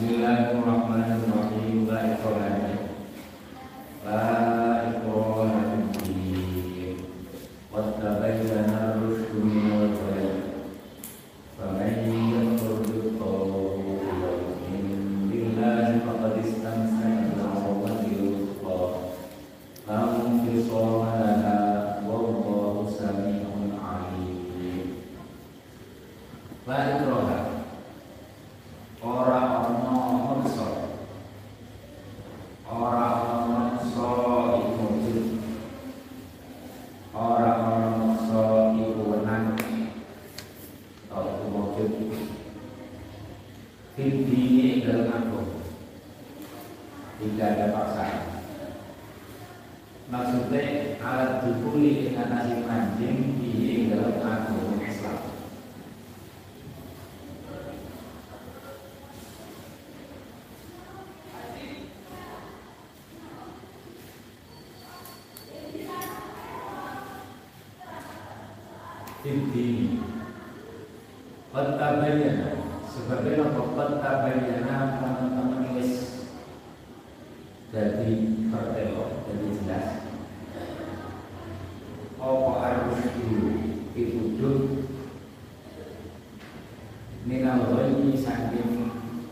Bismillahirrahmanirrahim. La ikraha fid-din. Qad tabayyana ar-rusydu minal ghayy. Faman yakfur bit-taghuti wa yu'min billahi faqad istamsaka bil-'urwatil wuthqa. La infisama laha wallahu sami'un 'alim. La ikraha. Ora ana maksa, ora ana maksa iku wujud, ora ana maksa iku wenang, atau iku wujud. Fidini dalam agama tidak ada paksaan. Maksudnya alat dukuli dengan nasib mancing di dalam agama Islam. Ini Qad-tabayyana sebagai Qad-tabayyana teman-teman wis jadi pertelo, jadi jelas apa harus dituduh minal ghayyi saking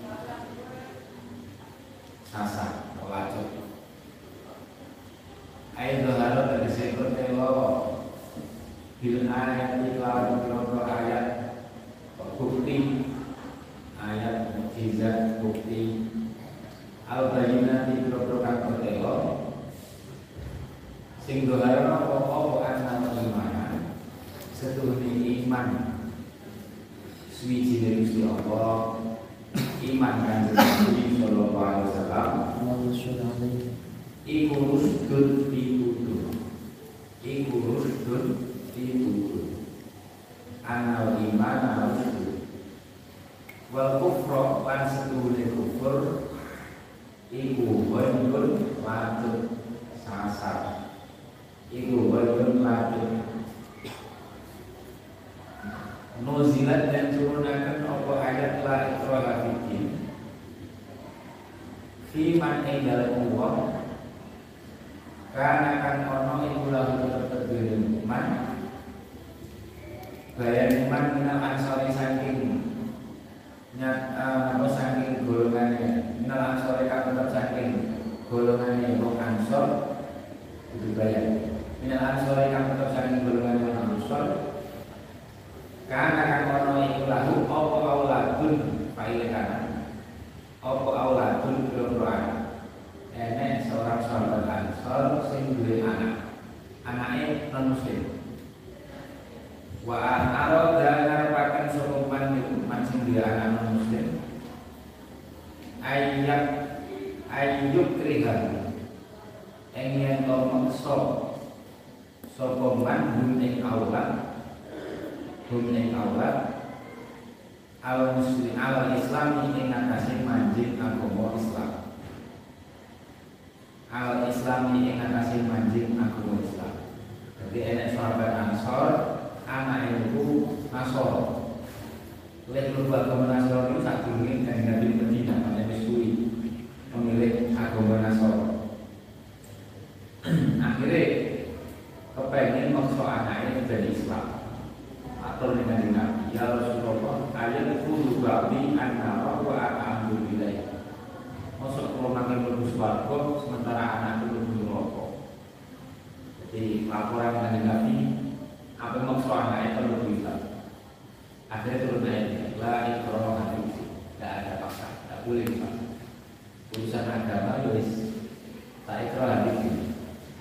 sasar pelacur ayo harus tegese pertelo bil ayat iklan berapa ayat bukti ayat mukjizat bukti al-bayyinati berapa kang telo sing doharan apa ana iman setuhune iman suci dari Gusti Allah iman kanjeng Nabi sallallahu alaihi wasallam iku rusdun pitutur iku rusdun itu anal iman harus wal kufra lan setuhune kufur iku wajibun latut sasar iku wajibun latut nuzilat dan turunakan apa ayat la ikraha fiddin fi man dalam wong karena kan ono iku lahu tertedune iman bayan iman minal ansori saking saking golongannya minal ansori kang tetap saking golongannya wong ansor itu bayan minal ansori kang tetap saking golongannya wong ansor karena kan ono iku lahu apa auladun faile kanan apa auladun berdoa enek seorang sahabat ansor sing duwe anake non muslim wa arada ngarepaken sapa man sing dia anak muslim ayyuk krihan yen to maksa sapa man hum ing aulad al muslim al islam ing atase manjing agama Islam al islam ing atase manjing agama Islam. Jadi enek sahabat ansor anak itu Nasor. Oleh berubah agama Nasor itu tak dingin dan Nabi Medina pada Mesui memilih agama Nasor. Akhirnya kepengen maksa anaknya dari Islam atau dengan Nabi ya Rasulullah ayat itu lubabi an-nara wa alhamdulillah. Masuk kalau makin lebih swarga sementara anak itu lebih rokok. Jadi laporan dengan Nabi apa maksud anaknya perlu bisa akhirnya turun ayatnya la ikraha fiddin tidak ada paksa tidak boleh dipaksa urusan agama wis la ikraha fiddin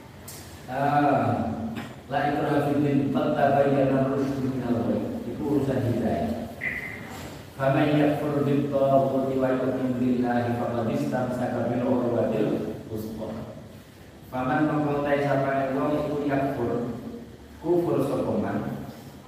la ikraha fiddin qad tabayyana ar-rusydu minal ghayy itu urusan hidayah faman yakfur bit-taghuti wa yu'min billahi faqad istamsaka bil-'urwatil wuthqa faman mengkotai sapane wong iku yakfur kufur sokoman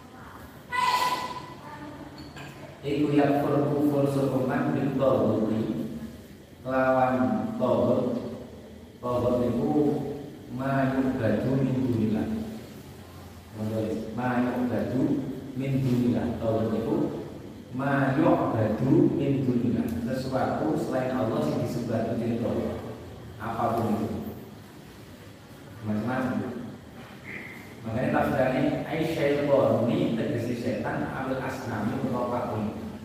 iku yakfur kufur sokoman bit-taghuti lawan taghut iku mayuk gaju min dunillah mayuk gaju min dunillah taghut iku ma yu'badu min dunillah, sesuatu selain Allah yang disembah itu Allah. Apapun itu macam-macam. Makanya tafsirnya syaitan ini tegesi setan ambil asnami atau apapun.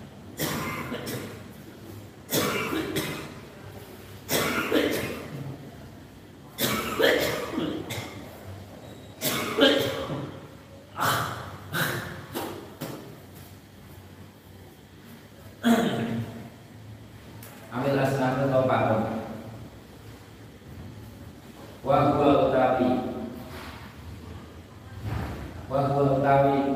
Ambil asnami atau apapun. Wa utawi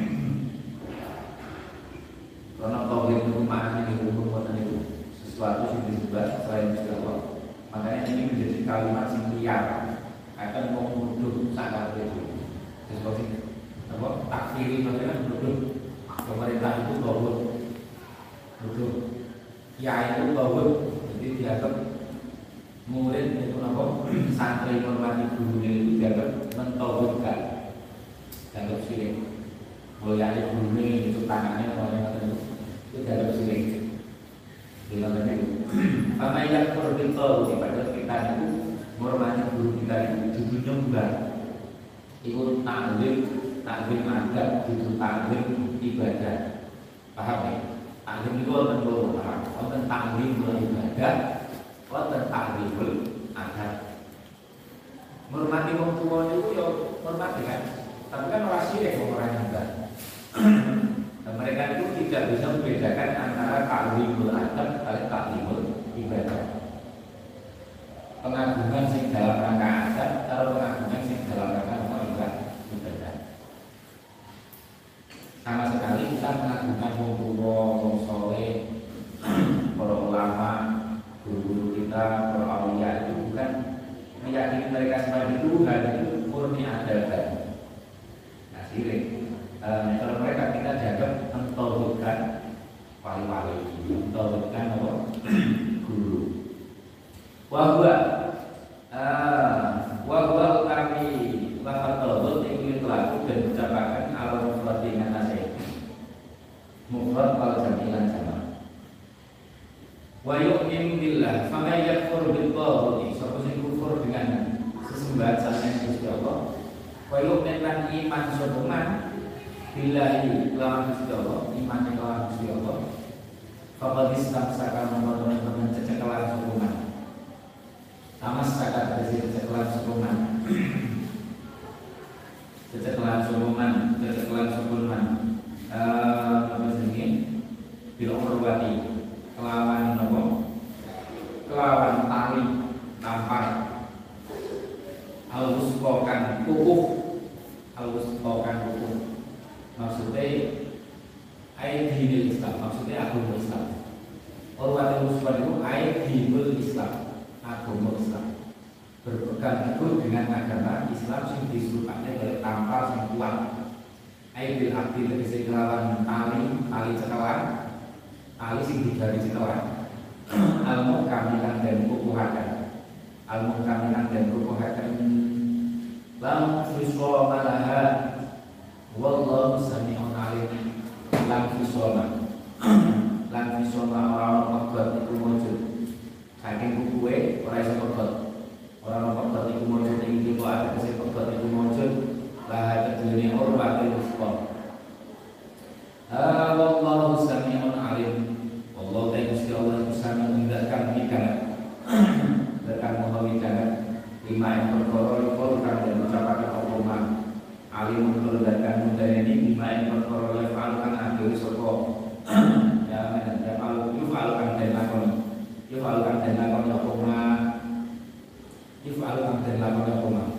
karena tauhid itu maknanya di hukum itu sesuatu yang disebut selain Allah. Makanya ini menjadi kalimat yang liar akan menuduh sangat itu sesuatu apa takfiri maksudnya menuduh pemerintah itu tauhid, menuduh ya itu tauhid, jadi dianggap murid itu apa santri hormati gurunya itu dianggap mentauhidkan, dianggap syirik. Mulyani gurunya itu tangannya orang yang itu dianggap syirik. Bilangnya itu. Karena yang berbeda pada kita itu menghormati guru kita itu nyembah. Itu taklim adab, itu taklim ibadah. Paham ya? Taklim itu orang yang paham. Orang taklim ibadah. Wonten takribul adab. Menghormati wong tuwa itu ya hormati kan. Tapi kan ora syirik wong ora nyembah. Dan mereka itu tidak bisa membedakan antara takribul adab kali takribul ibadah. Pengagungan sing dalam rangka adab karo pengagungan sing dalam rangka ibadah. Sama sekali kita mengagungkan wong tuwa, wong saleh, para ulama, guru-guru kita, para awliya itu bukan meyakini mereka sebagai Tuhan, itu murni adaban. Nah, syirik. Kalau mereka kita dianggap mentauhidkan wali-wali, mentauhidkan apa? Guru. Wahwa kami lafaz tauhid ingin pelaku dan ucapakan alam mufrad dengan nasib. Mufrad kalau jamilan sama. Wa yu'minu billah fa may yakfur bil tauhid, sapa sing kufur dengan sesembahan selain Gusti Allah, wa yu'min lan iman sapa man billahi lawan Gusti Allah, iman lawan Gusti Allah, faqad istamsaka dengan cecekelan sapa man. Sama saka dari cecekelan sapa man. Cecekelan sapa man. Apa jenenge? Bil urwati kelawan nopo, kelawan tali tampar alwusqokan kukuh, maksudnya aidinil Islam, maksudnya agama Islam. Urwatul wusqa itu aidinul Islam, agama Islam. Berpegang teguh dengan agama Islam yang disebutkan oleh tampar yang kuat. Aidil abdi tegese kelawan tali cekelan, tali sing digari cekelan. Al-muqamilan dan kukuhakan, al-muqamilan dan kukuhakan. Lam fisoma laha wallahu sami'un alim. Lam fisoma orang pegot itu wujud. Saking kukuwe ora iso pegot. Orang pegot itu wujud ing kok ada kese pegot itu wujud. Laha kedune urwatul wusqa. Wallahu sami'un alim. Allah Gusti Allah itu sami mendengarkan bicara, mendengarkan mengawikan lima yang perkara itu kan dan mengucapkan hukuman. Alim mendengarkan mudanya ini lima yang perkara yang falukan akhir soko. Ya falu yufalukan dan lakon hukuman. Yufalukan dan lakon hukuman.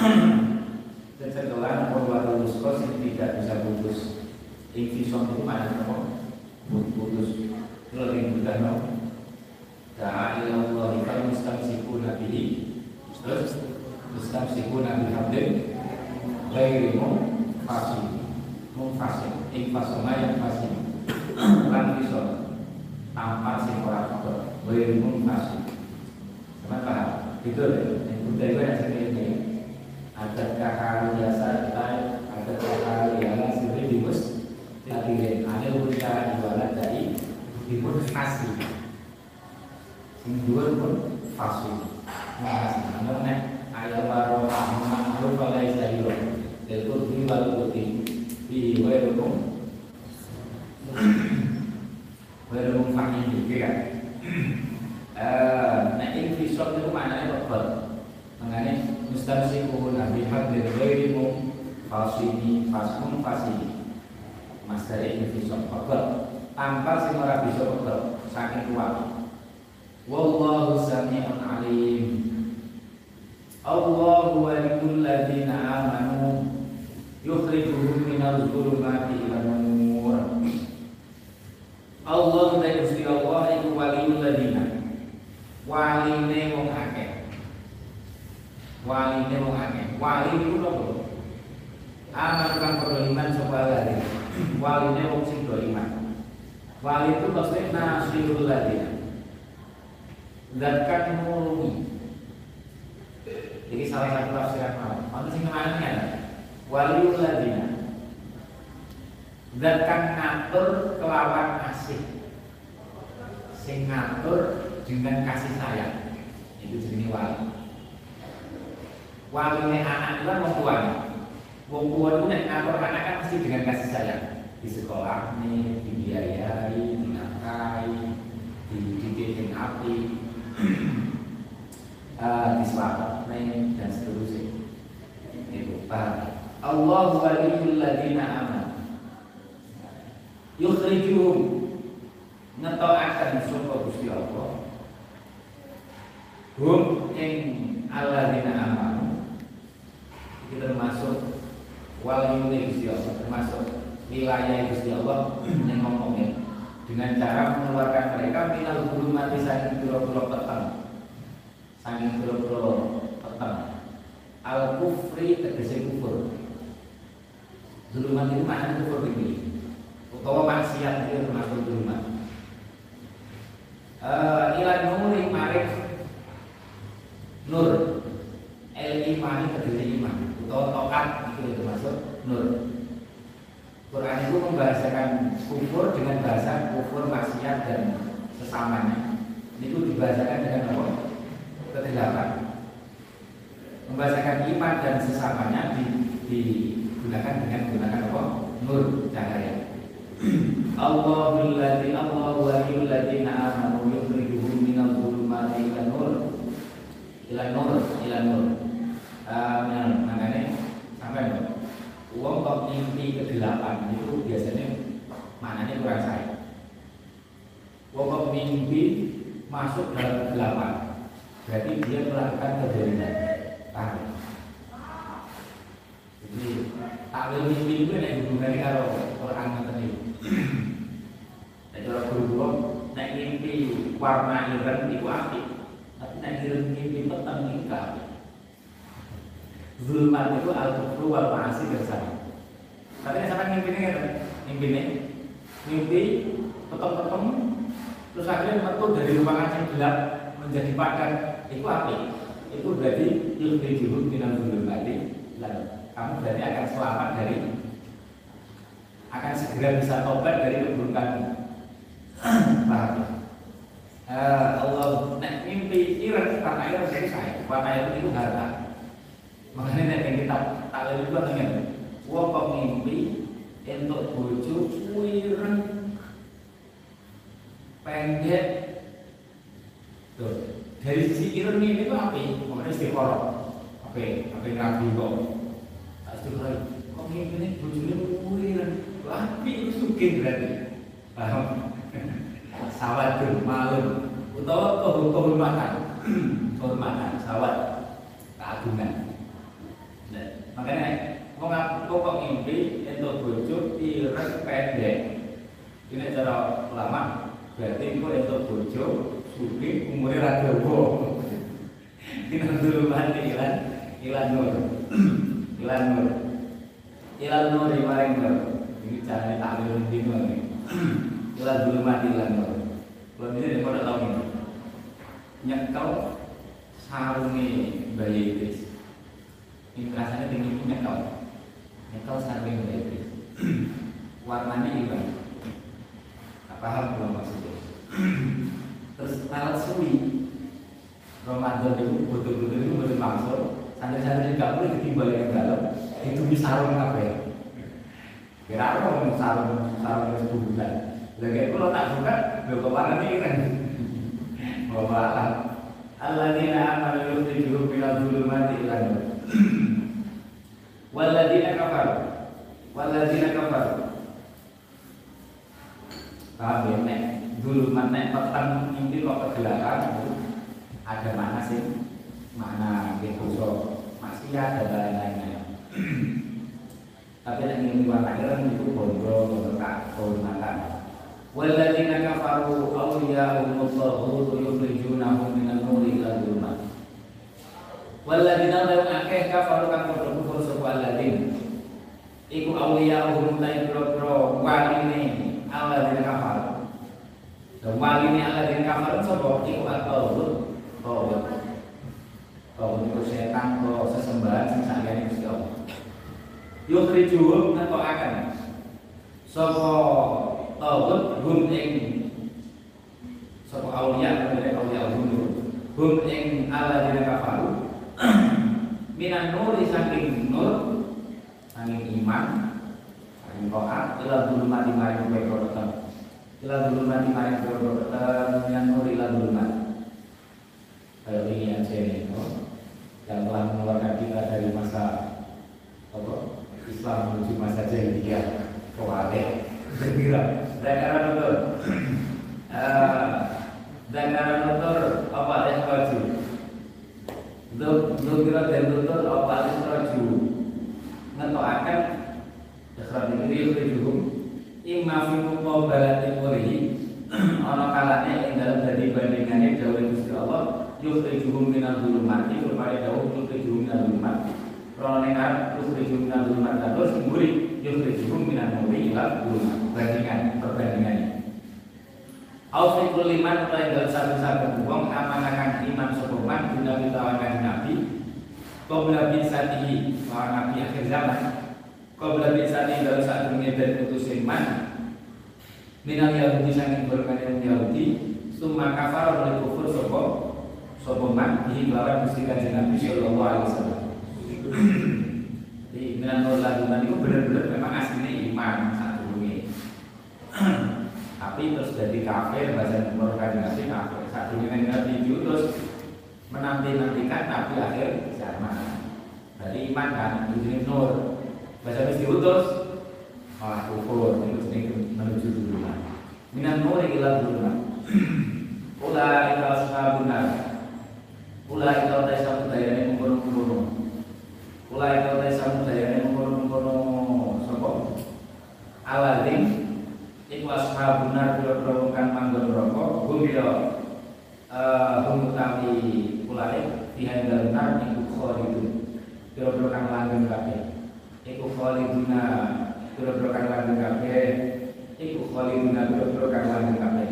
Setelah urwatul wusqa yang tidak bisa putus. Infisom itu mana putus. Kalau yang sudah tahu, ta'ala Allah kita mustamsikuna bihi, terus mustamsikuna bihamdin, ghairimu fasih, infasoma yang fasih, lan fisol, tanpa sing ora kotor, ghairimu fasih. Kenapa? Itu yang budaya yang seperti ini. Ada kakak biasa, ada kakak yang sendiri dimus, hadirin. Ada anil huda iwala dari dipun fasih. Sing dhuwur pun fasih. Namun nek ayat waro ma'ruf wa laisa ila itu wal putih di wairukum fakih juga kan. Nek infisor itu maknanya tebal. Maknanya mustamsikun nabi hadir wairikum fasini fasmun fasini. Mas dari infisor tebal tanpa sing ora bisa tebal saking kuat. Wallahu sami'un alim. Allahu waliyul ladzina amanu yukhrijuhum minadh dhulumati ilan nur. Allah ta Gusti Allah iku waliyul ladzina. Waline wong akeh. Waline wong akeh. Wali iku lho. Aman kang beriman sapa lare. Waline wong sing beriman. Wali itu maksudnya nasirul ladzina. Zatkan mulungi. Jadi salah satu tafsiran mau. Mana sing maknanya ada? Waliul ladzina. Zatkan ngatur kelawan kasih. Sing ngatur dengan kasih sayang. Itu jenenge wali. Waline anak itu kan wong tuane. Wong tua itu nek ngatur anak kan mesti dengan kasih sayang. Di sekolah nih, dibiayai, dinafkahi, dididik dengan api. Diselamatkan dan seterusnya. Itu Pak. Allahu waliyul ladzina amanu. Yukhrijuhum ngetokake sapa Gusti Allah. Hum ing alladzina amanu. Itu termasuk waliyul Gusti Allah, termasuk wilayah Gusti Allah yang ngomongnya dengan cara mengeluarkan mereka minal zulumati saking pira-pira peteng. Saking pira-pira peteng. Al kufri tegese kufur. Zulumat itu maknanya kufur ini. Utawa maksiat itu termasuk zulumat. Ila nuri marik nur. El imani tegese iman. Utawa tokat itu termasuk nur. Quran itu membahasakan kufur dengan bahasa kufur, maksiat dan sesamanya. Itu dibahasakan dengan apa? Kedelapan. Membahasakan iman dan sesamanya digunakan dengan menggunakan apa? Nur, cahaya. Allahu waliyul ladzina amanu yukhrijuhum minadh dhulumati ilan nur. Makanya sampai uang kok mimpi kegelapan itu biasanya maknanya kurang saya. Uang kok mimpi masuk dalam kegelapan, berarti dia melakukan kezaliman. Jadi takwil mimpi itu ada hubungannya kalau Quran tadi. Dan kalau guru naik mimpi warna ireng itu api, tapi naik mimpi petang itu api. Zulmat itu al-kufru wal ma'asi bersama. Tapi sampai mimpi petang-petang terus akhirnya metu dari ruangan yang gelap menjadi padan itu api. Itu berarti yukhrijuhum minadh dhulumati. Kamu berarti akan selamat dari, akan segera bisa tobat dari keburukanmu. Paham ya? Allah nek mimpi ireng karena ireng dari saya, warna itu harta. Makanya nek kita takwil itu ngene. Wong kok mimpi entuk bojo ireng pendek. Tuh, dari sisi ireng ini itu api, makanya istiqoroh. Oke, rabi kok. Tak istiqoroh. Kok mimpi ini bojone ireng. Api itu sugih berarti. Paham? Sawat malam utawa kehormatan. Kehormatan, sawat keagungan. Makanya kok mimpi entuk bojo ireng pendek. Ini cara ulama berarti kok entuk bojo sugih umure ra dawa. Kita dulu mati ilan nur. Ilan nur maring nur. Ini carane takwil dino iki. Ilan dulu mati ilan nur. Kalau ini nek ora tau ini. Nyekel sarunge bayi Idris. Ini rasanya tinggi nyekel sarunge bayi Idris. Warnanya ireng. paham belum maksudnya? Terus alat suwi Ramadan itu betul-betul itu betul maksud santri-santri nggak boleh ditimbal yang dalam itu bisa sarung apa ya? Kira apa mau sarung itu bukan? Lagi kalau tak buka, gue kemana nih kan? Bahwa alladzina amanu yukhrijuhum minadh dhulumati ilan nur. Walladzina kafaru. Paham ya? Nek dhulumat nek petang ini kok kegelapan ada mana sih? Mana gitu maksiat dan lain-lainnya. Tapi nek ingin warna ireng itu bondo mata. Walladzina kafaru awliya'uhum at-taghut yukhrijunahum minan nuri ila dhulumat. Walladzina la akeh kafaru kang padha kufur sapa alladzina iku awliya'uhum la yadro waline alladzina kafaru. Dan waline alladzina kafaru sapa iku at-taghut. Itu setan atau sesembahan sing sakjane Gusti Allah. Yukhrijuhum natokaken sapa taghut hum ing sapa auliya hum ing alladzina kafaru minan nuri saking nur saking iman saking taat ila dhulumati maring kebrotan minan nuri ila dhulumat. Kayak ini aja nih, yang telah mengeluarkan kita dari masa Islam menuju masa jahiliyah kewaleh. Zakaran nutur apa yang raju Dukira dan nutur apa yang raju ngetokaken ikhrat ini yukhrijuhum imma fi muqabalatin walihi ana kalane ing dalem dadi bandingane dawuh Gusti Allah yukhrijuhum minadh dhulumati rupane dawuh yukhrijuhum minadh dhulumati rono ning arep yukhrijuhum minadh dhulumati terus mburi yukhrijuhum minan nuri ila dhulumat perbandingannya. Aufikul liman utawi dalam satu-satu wong amanakan iman sopoman guna ditawakan Nabi qabla bisatihi wa Nabi akhir zaman qabla bisatihi dalam satu ngeden utus iman minal Yahudi saking golongan Yahudi summa kafara oleh kufur sopoman dihimbawan Gusti Kanjeng Nabi sallallahu alaihi wasallam. Jadi minan nur laduman itu benar-benar memang aslinya iman satu ini. Tapi terus jadi kafir bahasa Kanjeng Nabi kafir satu ini Nabi diutus menanti-nantikan Nabi akhir zaman. Jadi iman kan ini nur bahasa Nabi diutus malah kufur itu menuju dhulumat. Minan nur ila dhulumat. Ula ila ashabuna. Ula ila taisa dayane mengkono-kono. Ula ila taisa dayane mengkono-kono sapa? Aladin iku ashabuna biro-biro kang manggon neraka gumira humutawi kulare dihandal nar iku khalidun biro-biro kang langgeng kabeh iku khaliduna biro-biro kang langgeng kabeh iku khaliduna biro-biro kang langgeng kabeh.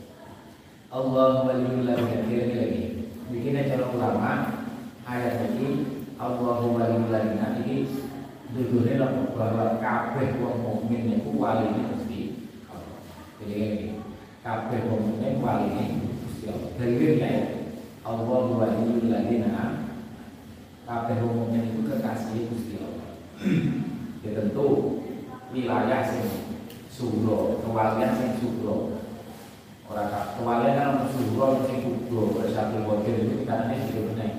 Allah waliyul ladina lagi bikin cara ulama ayat ini Allahu waliyul ladina iki dudune bahwa kabeh wong mukmin niku waline Gusti Allah. Jadi kabeh wong mukmin waline Gusti Allah. Dalilnya Allahu waliyul ladina kabeh wong mukmin itu kekasih Gusti Allah. Ya tentu wilayah sing suro, kewalian sing suro. Orang kewalian kan untuk suro sing kubro bersatu wakil itu karena ini benar.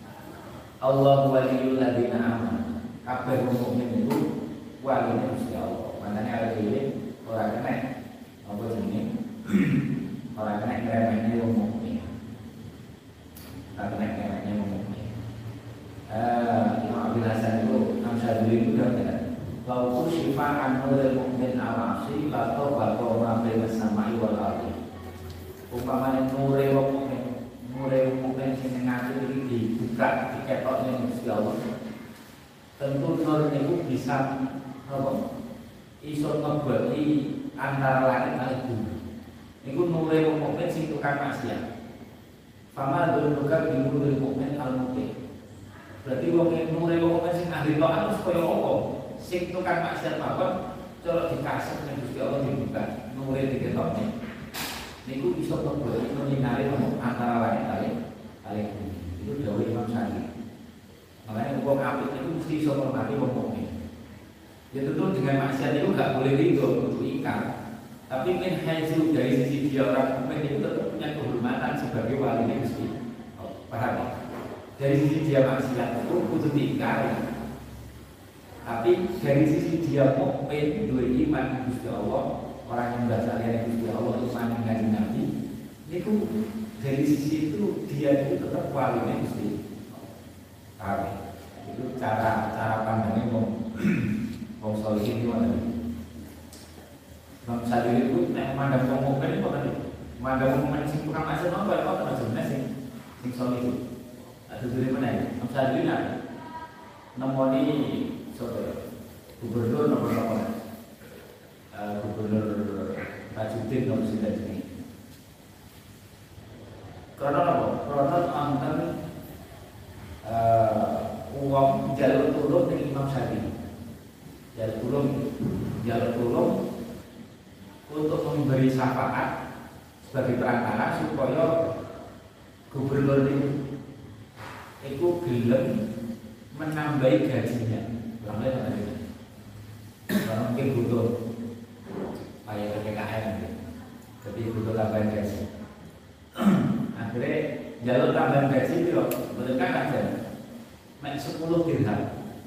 Allahu waliyul ladina amanu. Kabeh wong mukmin itu waline Gusti Allah. Makane ada dhewe ora kena apa jenenge? Ora kena kremene wong mukmin. Ora kena kremene wong mukmin. Imam Abdul Hasan itu Syadzili itu kata, "Wa sifaan nurul mukmin awasi la tawbatu ma baina samai wal ardi." Umpamane nure wong mukmin sing ngati iki dibuka diketokne Gusti Allah. Tentu nur itu bisa apa? Iso ngebagi antara langit lan bumi. Niku nure wong mukmin sing tukang maksiat. Fama dzulmuka bi nuril mukmin al-muqim. Berarti wong nure wong mukmin sing ahli taat terus kaya apa? Sing tukang maksiat mawon cara dikasih ning Gusti Allah dibuka. nure diketok nih. Niku iso mlebu itu nyinari antara langit kali bumi. Itu dawuh Imam Syafi'i. Makanya wong apik itu mesti iso ngormati wong mukmin. Ya tentu dengan maksiat itu nggak boleh ridho untuk ingkar. Tapi min haitsu dari sisi dia orang mukmin itu tetap punya kehormatan sebagai walinya Gusti. Paham ya? Dari sisi dia maksiat itu kudu diingkari. Tapi dari sisi dia mukmin dua iman Gusti Allah, orang yang membaca ayat Gusti Allah itu iman dengan Nabi, itu dari sisi itu dia itu tetap walinya Gusti. Paham ya? Itu cara pandangnya wong solihin itu ada. Bang Sadili itu nek mandang wong mukmin itu kan mandang wong mukmin sing tukang maksiat apa kok ana jenenge sing solih itu. Ada dari mana ya? Bang Sadili nak nemoni gubernur nomor berapa? Gubernur Tajudin nomor 9 ini. Karena apa? Karena anten uang jalur turun dari Imam Syafi'i. Jalur turun untuk memberi syafaat sebagai perantara supaya gubernur itu gelem menambahi gajinya. Orangnya apa gitu? Orang mungkin butuh kayak PPKM gitu. Jadi butuh tambahan gaji. Akhirnya jalur tambahan gaji itu loh, mereka aja. Mek 10 dirham.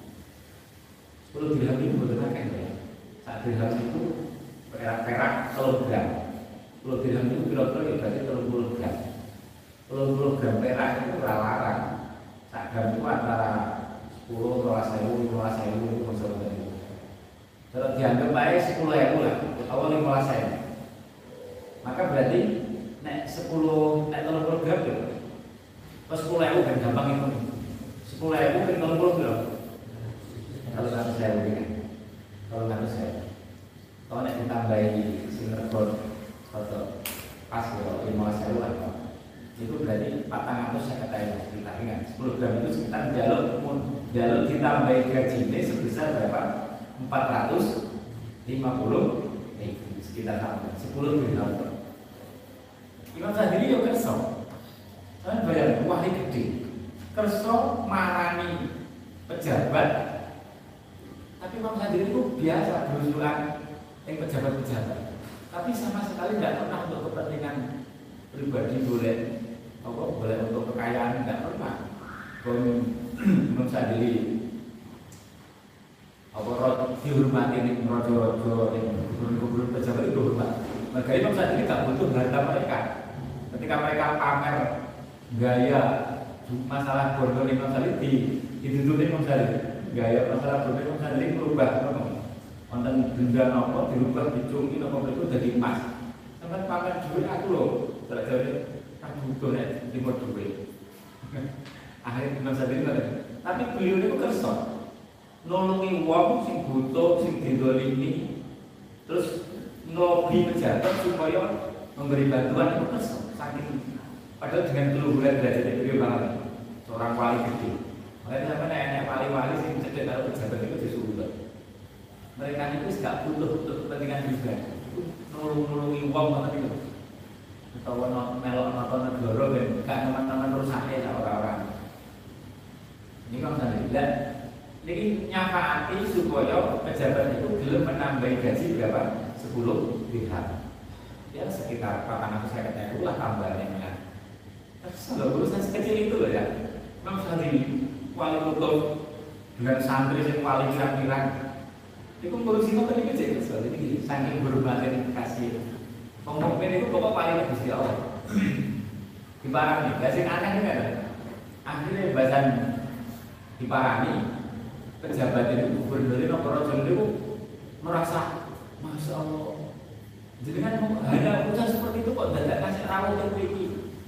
10 dirham itu betul kan ya? 1 dirham itu perak 3 gram. 10 dirham itu kira-kira berarti 30 gram. 30 gram perak itu larang. 1 gram itu antara 10, 12.000, 15.000 itu maksudnya itu. Kalau dianggap baik 10.000 lah, atau 15.000. Maka berarti nek 30 gram itu, pas 10.000 kan gampang itu. 10.000 kan 30 gram. Kalau nggak saya begini, kalau nggak saya, kalau nek ditambahi sinergon atau pas kalau 15.000 lah, itu berarti 400 saya katakan kita ingat 10 gram itu sekitar jalur ditambahi gajinya sebesar berapa? 450 sekitar 10 gram. Imam Syafi'i yo kerso, kan bayar wah ini gede, kerso marani pejabat. Tapi Imam Syafi'i itu biasa berusulan yang pejabat-pejabat. Tapi sama sekali tidak pernah untuk kepentingan pribadi boleh untuk kekayaan tidak pernah. Imam Syafi'i dihormati nih rojo-rojo gubernur pejabat itu hormat. Maka Imam Syafi'i tidak butuh harta mereka. Ketika mereka pamer gaya masalah bodoh Imam Syafi'i dituntut Imam Syafi'i. Gaya masalah berbeda sendiri berubah, konten benda nopo dirubah dicungi nopo itu jadi emas. Sampai pamer duit aku loh, terjadi aku butuh nih timur duit. Akhirnya Imam Syafi'i tapi beliau itu kerso, nolongi wong sing butuh, sing didolimi, terus ngelobi pejabat supaya memberi bantuan itu kerso. Saking padahal dengan keluhuran derajat beliau banget, seorang wali gede. Makanya sampai nenek wali-wali sing cedek karo pejabat itu disuruh. Mereka itu tidak butuh untuk kepentingan juga. Nulungi uang ngoten itu. Utawa melok nonton negara ben gak teman-teman rusake orang-orang. Ini kan saya niki nyafaati supaya pejabat itu gelem menambahi gaji berapa? 10 dirham. Ya sekitar 450 lah tambahannya. Kalau urusan sekecil itu loh ya. Memang sehari wali kutub dengan santri yang wali pirang-pirang itu ngurusi kok tadi kecil soal ini saking berhormatnya kasih pemimpin itu pokok paling Gusti Allah diparani gak sing aneh kan akhirnya bahasan diparani pejabat itu gubernur itu nomor itu merasa Masya Allah jadi kan hanya urusan seperti itu kok tidak kasih rawat yang memiliki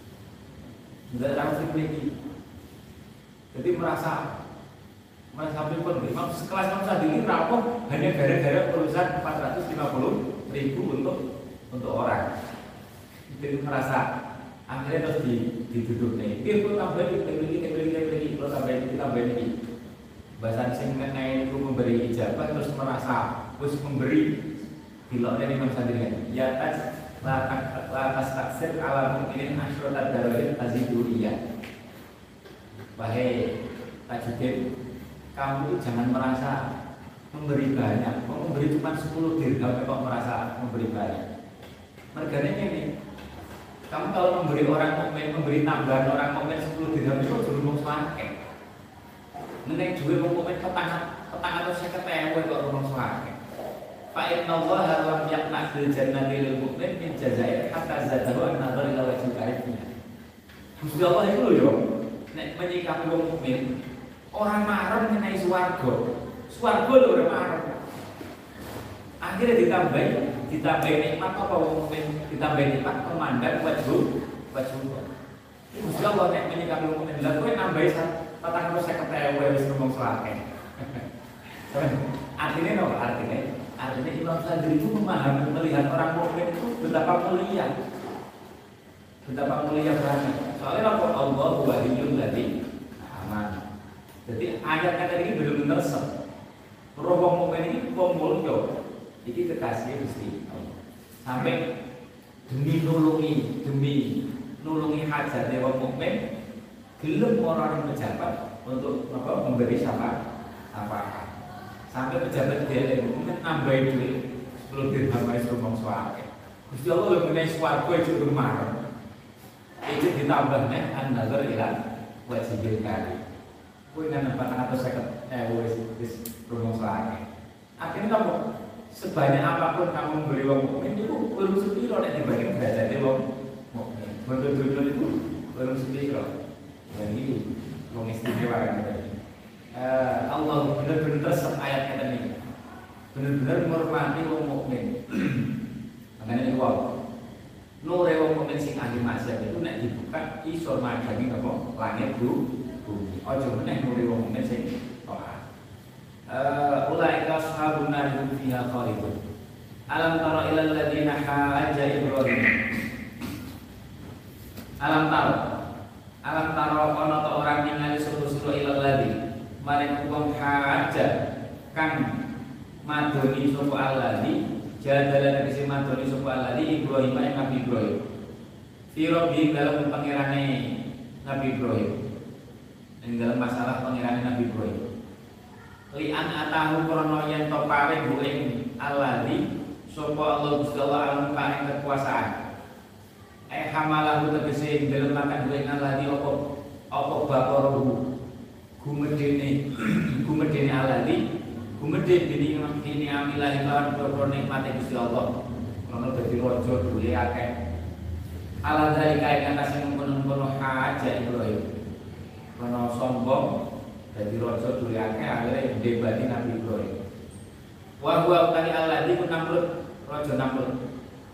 tidak rawat yang memiliki. Jadi merasa pribun, sekelas Imam Syafi'i rapuh hanya gara-gara urusan 450.000 untuk orang. Jadi merasa akhirnya terus diduduk nih. Kita tambahin, kalau tambahin ini. Bahasa sing mengenai itu memberi ijabah terus merasa terus memberi diloknya Imam Syafi'i. ya lakas taksir ala mukminin asyrata darajat taziduriyah. Wahai Tajuddin, kamu itu jangan merasa memberi banyak. Kok memberi cuma 10 dirham kok merasa memberi banyak. Mergane ini, kamu kalau memberi orang mukmin, memberi tambahan orang mukmin 10 dirham itu durung sakit. Nek duwe wong mukmin petang atau 50.000 kok rumong sakit. Fa inna Allah lam yaqna fil jannati lil mu'min min jazair hatta zadahu an-nazar ila wajhil karim. Gusti Allah itu lho yo, nek menyikapi wong mukmin, orang marah mengenai swarga. Swarga lho ora marah. Akhirnya ditambahi nikmat apa wong mukmin, ditambahi nikmat memandang wajhu. Gusti Allah nek menyikapi wong mukmin, lha kowe nambahi 450.000 wis ngomong sakit. Artinya Imam Sadri itu memahami, melihat orang mukmin itu betapa mulia banget. Soalnya apa? Allah waliyul ladzi aman. Jadi ayat ini benar-benar resep. Roh wong mukmin ini wong mulya. Iki kekasih Gusti Allah. Sampai demi nulungi hajat wong mukmin, gelem orang pejabat untuk memberi syafaat. Sampai pejabat dia mungkin nambahin duit 10 dirham wis rumong swake. Gusti Allah lho meneh swarga itu rumah. Itu ditambahnya an-nazar ila wajhil karim. Kuwi nang 450.000 wis rumong swake. Akhirnya kamu sebanyak apapun kamu memberi wong mukmin itu belum sepiro nek dibanding derajate wong mukmin. Betul-betul itu belum sepiro. Dan ini wong istimewa kan. Allah benar-benar resep ayat ini, benar-benar menghormati wong mukmin. Makanya ini wong nure wong mukmin sing ahli maksiat itu nek dibuka iso madhangi apa langit bumi. Aja meneh nure wong mukmin sing taat. Ulaika ashabun nar hum fiha khalidun. Alam tara ilal ladzina hajja Ibrahim. Alam tara ana ta orang ningali sura-sura ilal ladzi maring wong haja kang madoni sapa alladzi jadalan kese madoni sapa alladzi Ibrahim ing Nabi Ibrahim Firobi dalam pangerane Nabi Ibrahim ing dalam masalah pangerane Nabi Ibrahim li'an atahu krana yen to paring ing alladzi sapa Allah Gusti Allah alam paring kekuasaan hamalahu tegese dalam makan ing alladzi apa bakarahu gumedene aladi gumedene ini amilah lawan pro nikmate Gusti Allah ana dadi raja duwe akeh ala dari kae atas mengkono-kono haja Ibrahim kono sombong dadi raja duwe akeh akhire debati Nabi Ibrahim wa huwa tani aladi ku Namrud raja Namrud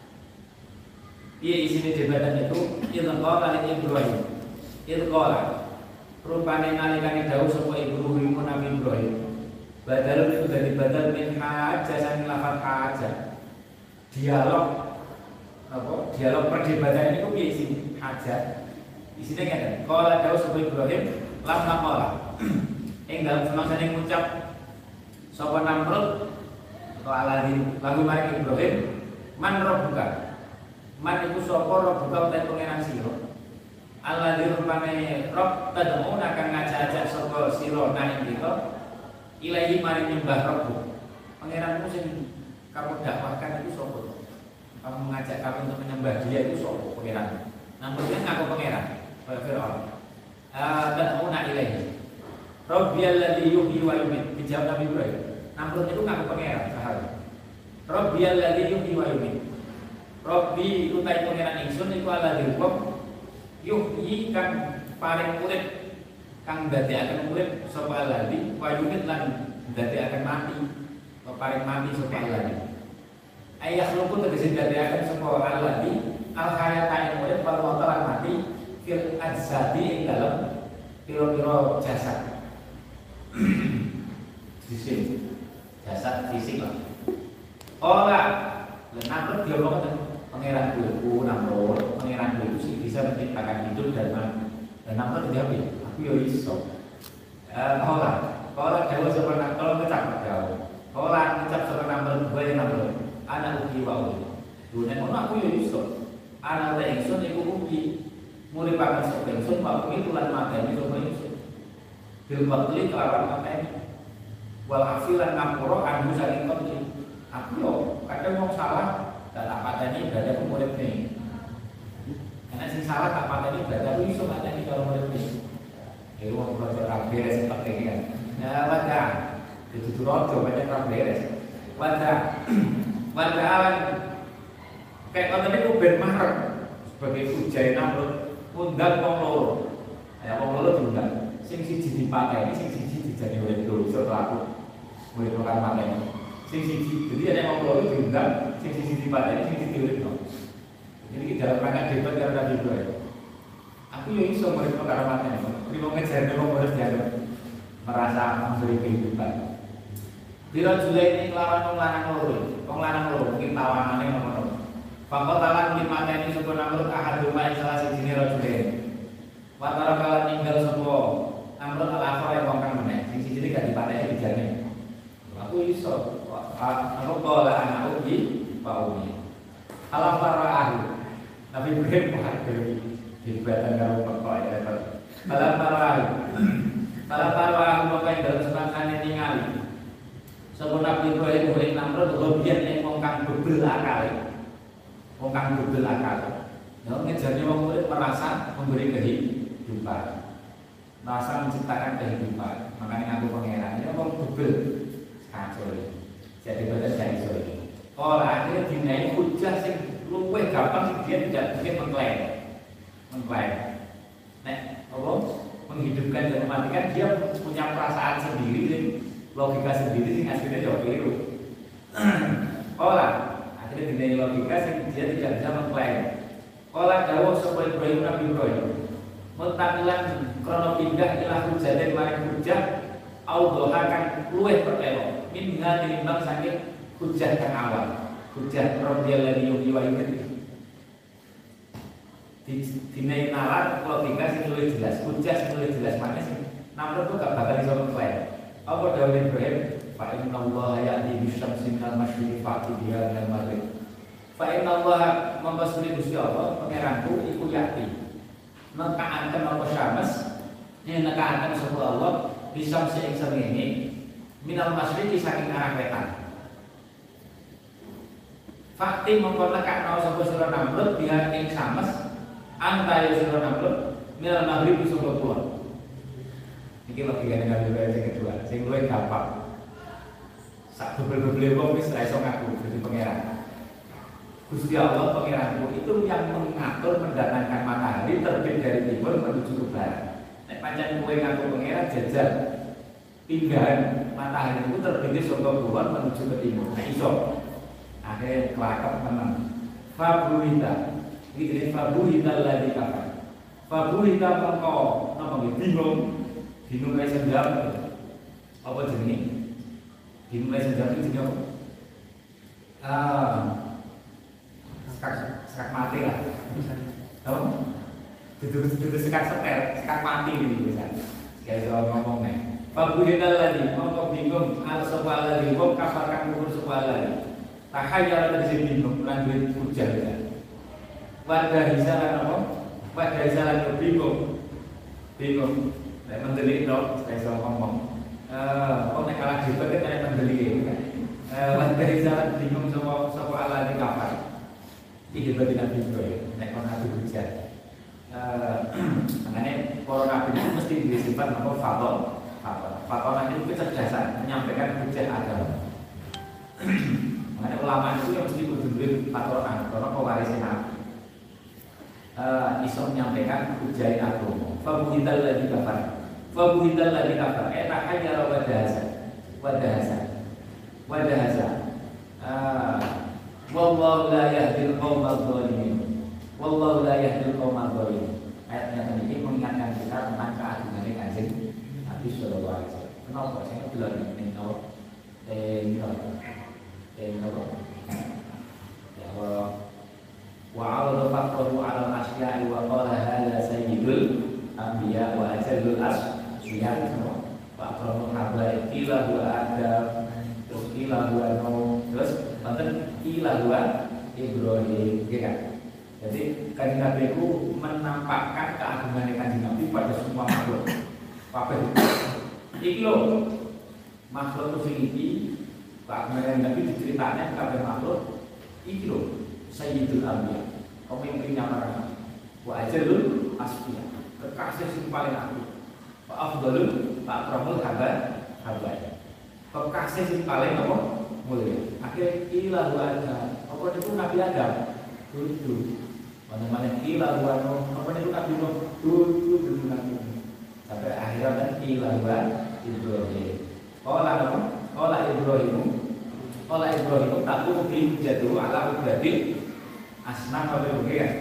piye isine debatan itu qala Ibrahim qala rupane nalikane dawuh sapa Ibrahim Nabi Ibrahim badal itu dari badal min haja sang lafal haja dialog perdebatan itu piye isi haja isine ngene qala dawuh sapa Ibrahim lam naqala ing dalem semangsane ngucap sapa Namrud atau alladzi lagu maring Ibrahim man rabbuka man iku sapa rabbuka utawa pangeran sira Allah dirupane Rob tad'una kang ngajak sapa sira nang kita ilahi maring nyembah Rabbu. Pangeranmu sing kamu dakwahkan itu sapa? Kamu mengajak kami untuk menyembah dia itu sapa pangeran? Namun dia ngaku pangeran, kaya Firaun. Tad'una ilahi. Rabbiyalladzi yuhyi wa yumiit. Dijawab Nabi Ibrahim. Namun itu ngaku pangeran, sahabat. Rabbiyalladzi yuhyi wa yumiit. Rabbi utai pangeran ingsun iku alladzi yuhyi kang paring urip kang dadekaken urip sapa alladzi wa yumit lan dadekaken mati paring mati sapa alladzi ayah luku tegese dadekaken sapa alladzi al hayata ing urip wal mauta lan mati fil ajsadi ing dalem pira-pira jasad jasad fisik lah ora lenang dia ngomong pangeran dulku Namrud, pangeran dulku sih bisa menciptakan hidup dan mati. Dan Namrud dijawab, aku yo iso. Kalau Jawa sebenarnya kalau ngecap Jawa, kalau ngecap sebenarnya Namrud, gue yang Namrud, anak uki wa uki. Dunia ngono aku yo iso. Ana ta ingsun iku ugi muripaken sapa ingsun waktu itu lan mateni sapa ingsun. Bil qatli kelawan mateni. Wal afilan ngapura anu saking qatli. Aku yo kadang mau salah dan tak pateni berarti aku murid nih. Karena sing salah tak pateni berarti aku iso mateni kalau murid nih. Iku wong belajar kabeh seperti ini kan. Nah, wadah. Itu rodo banyak kabeh. Wadah awan kayak konten itu ben marek sebagai ujian Namrud undang wong loro. Ya wong loro diundang. Sing siji dipateni, sing siji dijadi oleh dosa pelaku. Murid program mateni. Sing siji jadi ada wong loro diundang, sing siji dipateni, sing siji diuripno. Jadi dalam rangka debat karo Nabi Ibrahim. Aku yo iso murid program mateni. Kuwi wong ngejarne wong harus dianggap merasa memberi kehidupan. Biro julai ini kelawan wong lanang loro, mungkin tawangane ngono. Fakot talan di mata ini sebuah Namrud ahaduma salah siji rajulain. Watara kalan ninggal sebuah Namrud al-akhir yang kongkang meneh. Sing siji gak dipateni dijane. Aku iso. Aku kala anak ugi Pak Umi. Alam paraahu. Nabi Ibrahim menghadiri dibatan karo pekok ya. Alam paraahu maka yang dalam semangkane ningali. Sebelum Nabi Ibrahim oleh Namrud hobian yang kongkang bebel akal. Kongkang bebel akal. Ya ngejarnya wong murid merasa memberi kehidupan. Merasa menciptakan kehidupan. Makanya ngaku pangeran. Ini wong bebel. Kacau. Jadi badan dari sore. Kalau akhirnya dinai hujah sing luwih gampang sing dia tidak mungkin mengklaim. Nek apa? Menghidupkan dan mematikan dia punya perasaan sendiri, logika sendiri sing aslinya jauh keliru. Akhirnya dinai logika sing dia tidak bisa mengklaim. Dawuh sapa Ibrahim Nabi Ibrahim. Mutakilan krono pindah ilah hujah dan maring hujah audohakan luwih pertelo. Minha tinimbang saking hujah kang awal. Hujah Rabbiyal ladzi yuhyi wa yumiitu. Dinai nalar logika sing luwih jelas, hujah sing luwih jelas mana sing Namrud kok gak bakal iso mengklaim. Apa dawuh Ibrahim? Fa inna Allah ya'ti bisyamsi minal masyriqi fa'ti biha minal maghrib. Fa inna Allah mengkosuri Gusti Allah pangeranku iku ya'ti. Nekaaken apa syams? Yen nekaaken sapa Allah bisyamsi ing srengenge minal masyriqi saking arah wetan. Fakti mengko nekakno sapa sira Namrud biha ing syams antaya sira Namrud minal maghrib saka kulon. Iki logikane Nabi Ibrahim sing kedua, sing luwih gampang. Sak bebel-bebele wong wis ra iso ngaku dadi pangeran. Gusti Allah pangeranku itu yang mengatur mendatangkan matahari terbit dari timur menuju ke barat. Nek pancen kowe ngaku pangeran jajal pinggahan matahari itu terbit saka kulon menuju ke timur. Nah iso. Akhirnya kelakap menang. Fabuhita. Iki jenenge fabuhita ladzi kafar. Fabuhita mengko napa bingung. Bingung kae sendam. Apa jenenge? Bingung kae sendam iki jenenge apa? Sekat mati lah. Tahu? Duduk sekat setel, sekat mati gitu misalnya. Kayak soal ngomong nih. Fabuhita ladzi mengko bingung al sapa ladzi wong kafar kang kufur sapa ladzi. Tahayyara dari bingung lanjut hujah ya. Wadah hisalan apa? Wadah hisalan bingung. Nek mendelik dong, saya soal ngomong. Kok nek kalah debat kan nek mendelik kan. Wadah hisalan bingung sapa ala di kafar. Iki debat Nabi Ibrahim nek kon adu hujah. Makanya para nabi itu mesti disifat apa faton. Faton itu kecerdasan menyampaikan hujah agama. Makanya ulama itu yang mesti berdiri patoran, karena pewarisnya Nabi. Iso menyampaikan hujah agama. Fabuhital ladzi kafar. Fabuhital ladzi kafar. Enak aja wadahasa. Wallahu la yahdil qaumadz dhalimin. Wallahu la yahdil qaumadz dhalimin. Ayatnya ini mengingatkan kita tentang keagungan Kanjeng Nabi sallallahu alaihi wasallam. Kenapa saya bilang ini tahu? Wa awal faqru ala al-asya'i wa qala hadha sayyidul anbiya wa ajallul asfiya wa aqramul habaib ila huwa adam terus ila huwa terus wonten ila huwa Ibrahim, ya kan? Jadi kanjeng Nabi itu menampakkan keagungan kanjeng Nabi pada semua makhluk. Apa itu? Iki lho, makhluk itu iki, keagungan kanjeng Nabi diceritakan kepada makhluk. Iki lho, Sayyidul Anbiya, pemimpinnya para nabi. Wa ajalul asfiya, kekasih yang paling agung. Wa afdalul akramul habaib. Kekasih yang paling apa? Mulia. Akhirnya ilahu Adam. Apa itu Nabi Adam? Dulu. Mana-mana ilahu Adam. Apa itu Nabi Nuh? Dulu Nabi Nuh. Sampai akhirnya kan ilahu Ibrahim. Qala Ibrahim takut jatuh ala ubadil asnam apa begitu.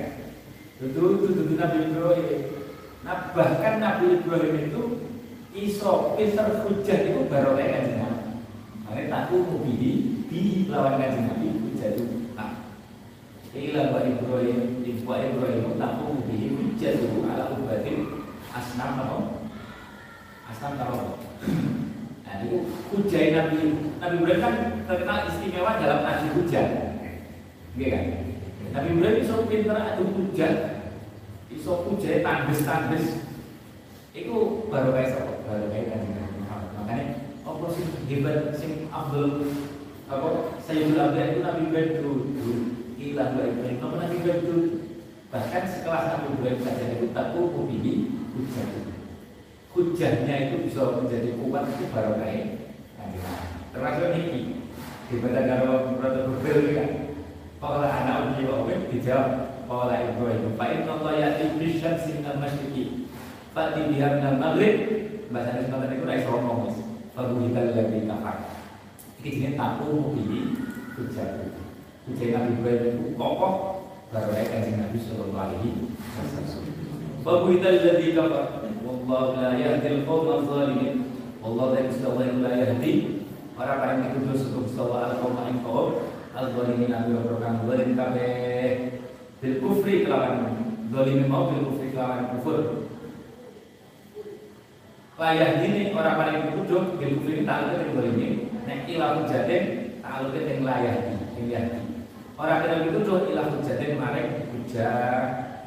Itu Nabi Ibrahim. Nah bahkan Nabi Ibrahim itu iso pinter hujah itu baru kayak kanjeng Nabi. Makanya takut di lawan kanjeng Nabi hujah itu. Nah, ilah wa Ibrahim takut hujah itu ala ubadil asnam apa? Asnam apa? Nah itu hujah Nabi Ibrahim kan terkenal istimewa dalam arti hujah, gitu kan? Nabi Ibrahim iso pinter adu hujah, iso hujah tandes. Itu baru kayak siapa? Baru kayak kanjeng Nabi Muhammad. Makanya apa sih hebat sing Abdul apa Sayyidul Anbiya itu Nabi Ibrahim dulu ilah wa Ibrahim Nabi Ibrahim dulu. Bahkan sekelas Nabi Ibrahim saja itu takut memilih hujah. Hujahnya itu bisa menjadi kuat itu baru kayak kanjeng Nabi. Termasuk ini daripada kalau protokol kan. Kalau anak uji wawin dijawab kalau Ibrahim Fa'in Allah ya'ti bisyamsi minal masyriqi fa'ti biha minal maghrib. Bahasa Indonesia itu naik ngomong fabuhikal ladzi kafar. Iki jenenge taku mubili hujah. Hujah Nabi Ibrahim itu kokoh baru kayak kanjeng Nabi sallallahu alaihi wasallam. Fabuhikal ladzi kafar wallahu la yahdil qawmal zalimin. Wallahu la yahdi orang yang dituduh sebelum sawa al-qawma in qawm al-zalimin ambil program zalim kabeh bil kufri kelawan zalim mau bil kufri kelawan kufur. Layah ini orang paling dituduh bil kufri ta'aluk bil zalimin nek ilah hujatin ta'aluk ing layah ini. Orang yang dituduh ilah hujatin maring hujah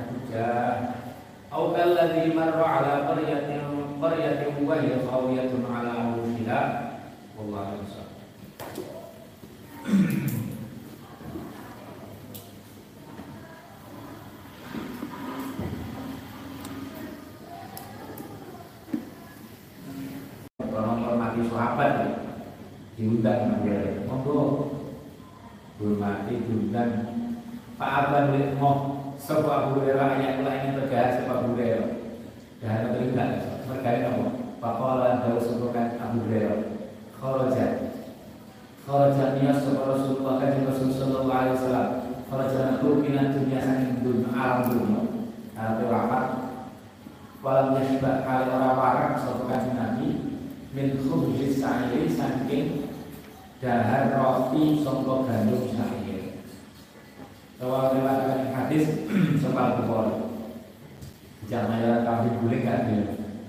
au kalladzi marra ala qaryatin wa hiya khawiyatun ala urushiha. Wallahu a'lam. Hormati sahabat diundang menjadi monggo hormati diundang Pak Aban boleh mau sebab Abu Hurairah yang lainnya tergahar sebab Abu Hurairah dan terlibat mereka apa pakolan tahu sebutkan Abu Hurairah kharaja niyas Rasulullah sallallahu alaihi wasallam kharaja naku minat dunia saking dunia alam dunia atau apa walau yasbah kali orang warak sebutkan Nabi min khubzis sa'iri saking dahar roti sangka gandum sa'ir. Kalau lewat hadis sebab Bukhari. Jangan kami boleh enggak dia.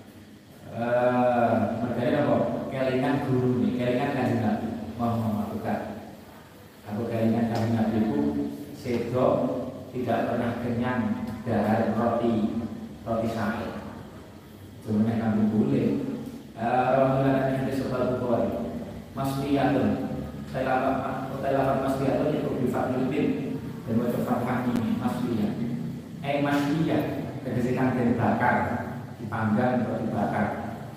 Mereka apa? Kelingan guru nih, kelingan kanjeng Nabi Muhammad bukan. Aku kelingan kanjeng Nabi itu sedo tidak pernah kenyang dahar roti sa'ir. Cuma kami boleh. Ramadhan yang disebut Bukhari Masriyatun Tailapan Masriyatun itu bifadlutin dan wajah fathah ini Masriyat Masriyat kedisikan dari bakar dipanggang atau dibakar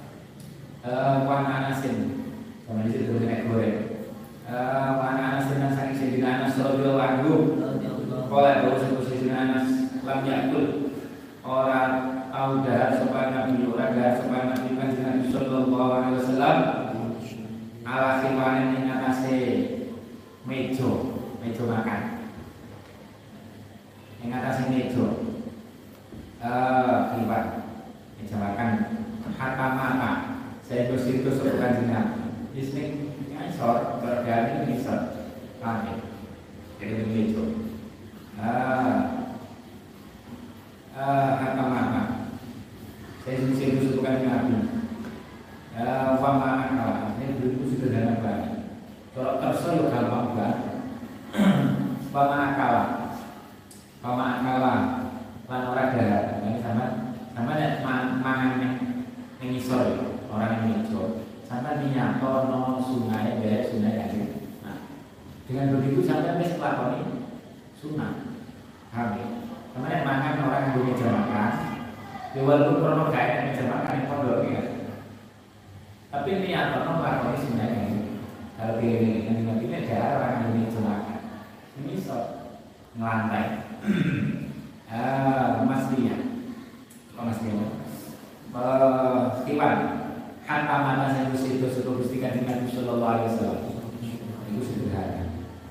Wana Anasin sama di situ dengan goreng Wana Anasin dan saking Sayyidina Anas radhiyallahu anhu qala bahwa Sayyidina Anas lam yakul orang au dahar sopan Nabi orang dahar sopan Nabi kanjeng Nabi sallallahu alaihi wasallam ala khiwanin ing atase meja makan ing atase meja khiwan meja makan hatta mata saya bersih sopan kanjeng Nabi isning ngisor bergani ngisor langit jadi meja hatta mata saya bukan Nabi. Fama akal, ini berikut sederhana banget. Kalau terso ya gampang banget. Fama lan ora dahar. Ini sama nek mangan ning isor orang yang ngisor. Sampai nyatono sungai beres sungai kan. Nah, dengan begitu sampai wis lakoni sunah. Paham ya? Sama nek mangan orang yang punya meja makan, ya walaupun krono gak enak meja makan yang pondok ya. Tapi nyatono lakoni sungai kan. Kalau pilih ini ada orang yang punya meja makan. Ini sok ngelantai. Mas Lia, Iwan, hatta mana saya mesti itu sudah gustikan dengan Sallallahu Alaihi Wasallam. Itu sederhana.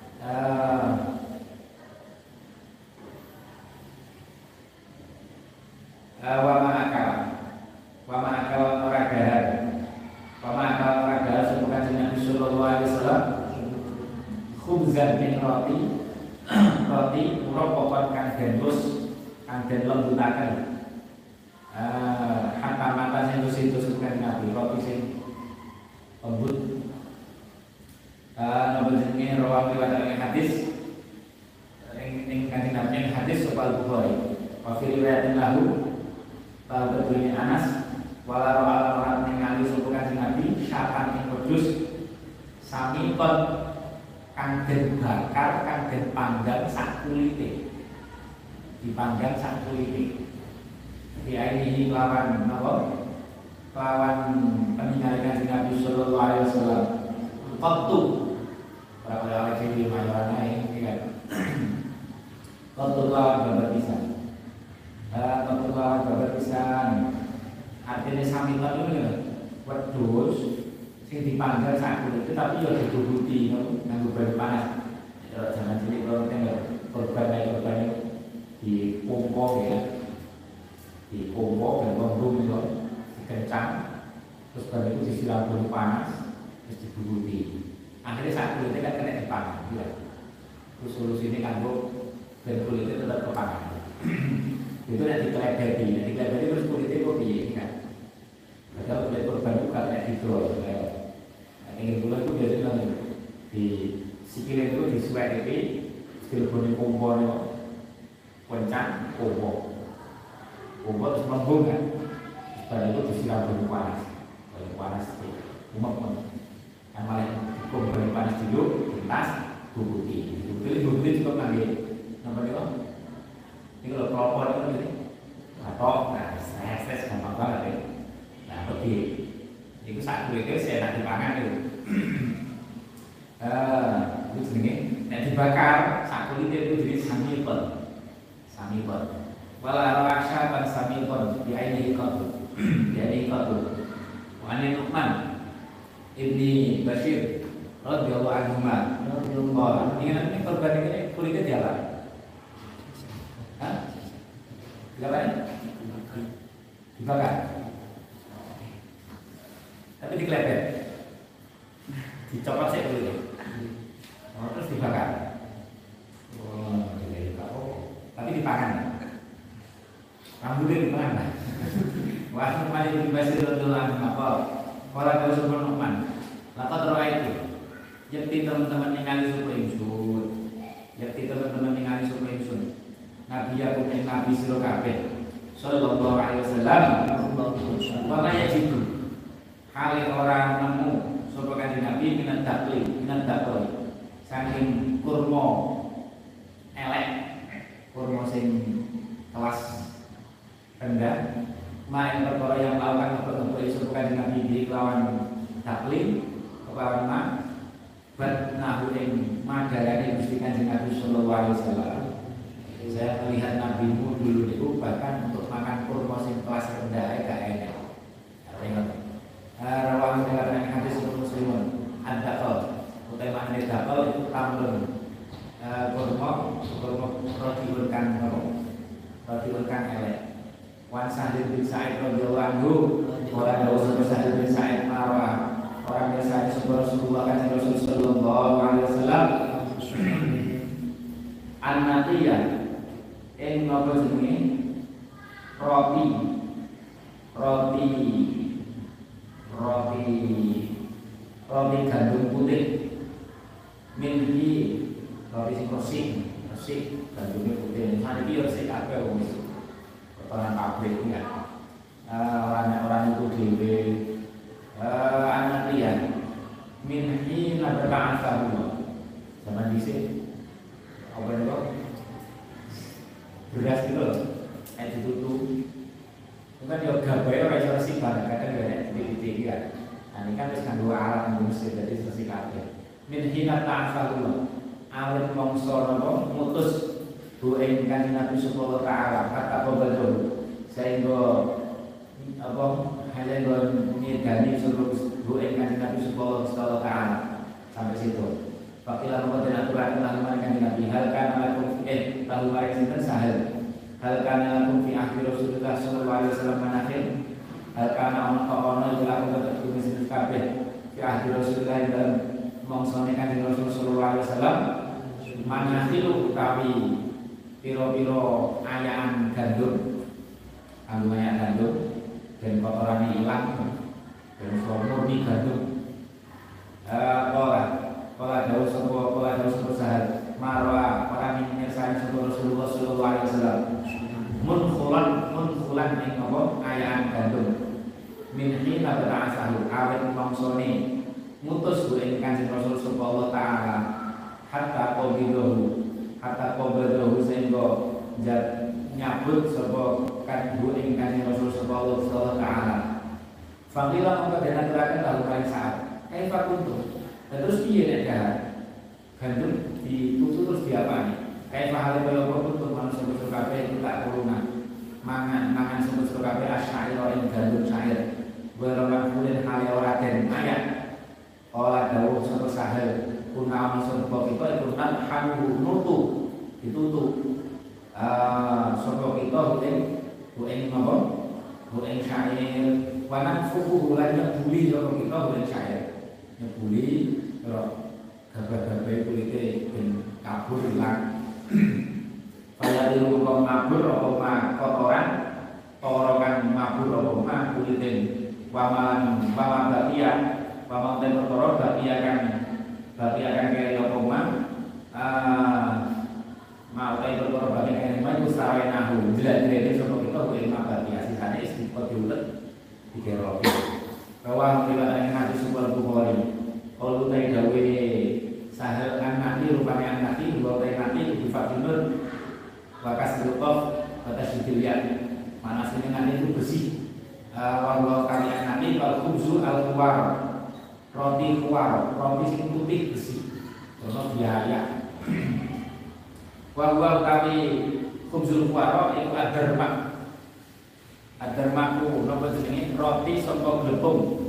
Wa ma'akal orang sebukan dengan Sallallahu Alaihi Wasallam. Khubzan min roti merupakan kang denus kang den lembutaken hatta mata sing itu sukan nabi roti sing lembut nomor jenenge rawi riwayat hadis ing kanjeng Nabi hadis sapa Bukhari wa fi riwayatin lahu Al-Badri Anas wala ra'al ningali sapa kanjeng Nabi syatan ing wedhus sami kon kang den bakar kang den panggang sak kulite dipanggang sak kulite di ini lawan napa lawan peninggalan Nabi sallallahu alaihi wasallam qattu para ulama iki mayorana iki kan qattu lawan babar pisan qattu lawan babar pisan artinya sami itu wedhus sing dipanggang sak kulite tapi yo ditubuti nganggo banyu panas kalau jangan cilik kalau korban di pompo ya di pompo dan bom itu dikencang terus baru itu disiram banyu panas terus diburuti akhirnya saat kulitnya kan kena dipangan ya. Terus solusi ini kan dan kulitnya tetap kepangan itu nanti dikelebedi terus kulitnya kok piye kan padahal kulit korban itu kan kena didol ingin bulan itu biasanya di sikilnya itu disuai itu skill bunyi pompo kencang pompo terus melembung kan dan itu disiram banyu panas umak yang malah hukum banyu panas dulu lintas bubuti cukup nanti nampak itu ini kalau kelopor itu nanti atau stres gampang banget ya nah pergi itu saat itu saya nak dipangan itu itu jenenge nek dibakar sak kulite itu jadi samipun wala rasya ban samipun di aini qatu wa an Nu'man ibni Bashir radhiyallahu anhu ini korban ini kulitnya diapa? Dibakar tapi dikelepet dicopot sih kulitnya terus dibakar tapi dipangan rambutnya dipangan wah Nu'man ibn Bashir radhiyallahu anhu apa kalau kau sebut Nu'man laqad ra'aitu yakti teman-teman ningali suku ingsun Nabi aku Nabi sira kabeh sallallahu alaihi wasallam wa ma yajibu hale orang nemu sapa kanjeng Nabi minat dakli saking kurma elek kurma sing kelas rendah main perkara yang lawan apa iso kanjeng Nabi di lawan dakli kelawan ma bat nahu ing madarane Gusti Kanjeng Nabi sallallahu alaihi wasallam. Saya melihat nabimu dulu itu bahkan untuk makan kurma sing kelas rendah gak enak. Ingat. Rawahu dengan hadis Muslimun ad-daqal. Utama ad-daqal itu tamrun. Kurma roti kan elek. Wan Sa'id bin Sa'id radhiyallahu anhu wa Rasul Sa'id bin Sa'id marwa orang biasa disebut Rasulullah kan Rasul sallallahu alaihi wasallam an-natiyah ing napa jenenge roti gandum putih milki roti sing resik gandumnya putih saniki yo resik kabeh wong pabrik ya. Orang-orang itu dewe anak lian min hina berta'asahu zaman dhisik apa itu beras itu loh kayak ditutup itu kan ya gabai ora iso sibar kadang ya titik-titik kan. Nah ini kan wis kanggo alat kanggo mesin dadi sesi kabeh min hina ta'asahu awet mongso napa mutus bu ing Kanjeng Nabi sallallahu taala kata pembedol sehingga apa hale ngidani suruh bu ing Kanjeng Nabi sallallahu taala sampai situ. Fakilah mengkoten aturan lalu Kanjeng Nabi hal kana lakum lalu mari sinten sahel hal kana lakum fi akhir Rasulullah sallallahu alaihi wasallam manakhir hal kana ono lakum tetep sinten kabeh fi akhir Rasulullah dalam mongsone Kanjeng Rasul sallallahu alaihi wasallam manakhilu utawi piro-piro ayaan gandum kanggo ayaan gandum dan kotorannya hilang dan murni gandum pola jauh sebuah sahal marwa para minyak Rasulullah sallallahu alaihi wasallam munfulan ing apa ayaan gandum min hina berasal awet mangsone mutus bu ing Kanjeng Rasul sallallahu taala hatta qabidahu sehingga nyabut sapa kan bu ing Kanjeng Rasul sallallahu taala. Faqila mongko den aturaken lalu kali saat. Kaifa kuntum? Dan terus piye nek dahar? Gandum ditutu terus diapani? Kaifa hale kaya apa kuntum manusa kabeh itu tak kurungan. Mangan sebut kabeh asyair ing gandum syair. Walaupun kulen hale ora den ayat. Ola dawuh sapa sahel kuna manusa kita iku halu nutu ditutup sapa kita bu ing napa bu ing syair wanan fuku lan nyebuli sapa kita bu ing syair nyebuli karo gabar-gabar kulite ben kabur ilang kaya diru kok mabur apa kotoran torokan mabur apa kulite waman bagian waman ten kotor bagian kaya apa mau tay perkara bagian kaya iku sarenahu jelas-jelas sapa kita kuwi mabati asisane istiqot diulet dikira bahwa riwayat hadis Sahih Bukhari kalau tay dawe sahel nanti rupanya nanti bahwa tay nanti di Fatimur wakas lutof batas dilihat mana sini nanti itu bersih walau kalian nanti kalau khubzu al-kuwar roti kuwar roti sing putih bersih contoh biaya wa kami khubzul kuwar itu adarmaku napa jenenge roti saka glepung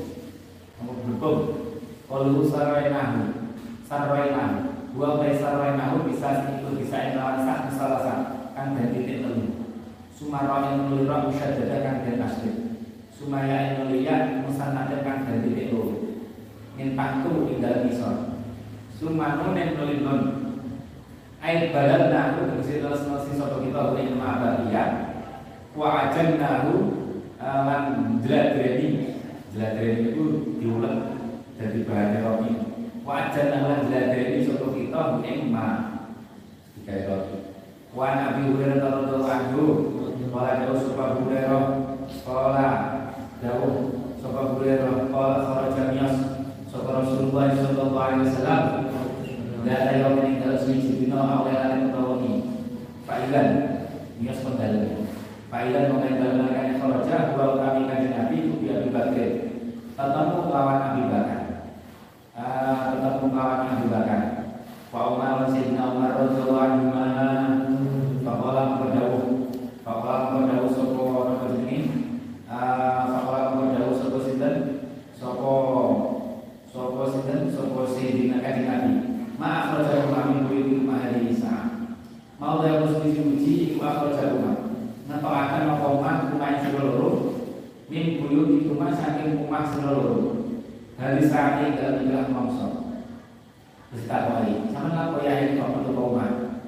kalau sarwainahu buah bayi sarwainahu bisa lawan sak salah kan dan titik telu sumara yang nulira musyaddada kan dan asli sumaya yang nuliya musannada kan dan titik loro intahku tinggal misal sumanu yang nulinun air badan nahu tegesi terus sapa kita ing ma'abadiyah wa ajannahu lan jladreni itu diulet dari bahan roti wajan lan jladreni sapa kita ing ma digawe roti wa nabi Hurairah radhiyallahu anhu qala dawu sapa Hurairah qala dawu sapa Hurairah qala kharaja miyas sapa Rasulullah sallallahu alaihi wasallam la ayaw min dalsi dina awal tawani fa'ilan miyas pendal fa'ilan mengendalikan kharaja wa kami kanjeng Nabi itu dia dibagi ketemu lawan Abi Bakar Pak Umar Sayyidina Umar radhiyallahu anhu faqala qadawu sapa apa jenenge faqala qadawu sapa sinten sapa Sayyidina kanjeng Nabi ma akhrajahu kami kuwi mahali Isa mau ya musuh-musuh iku akhrajahu napa akan makoman kumai seluruh min buyut itu mas saking kumah seluruh dari saat ini dalam ilah mongso berita kali sama lah kau yang itu untuk kumah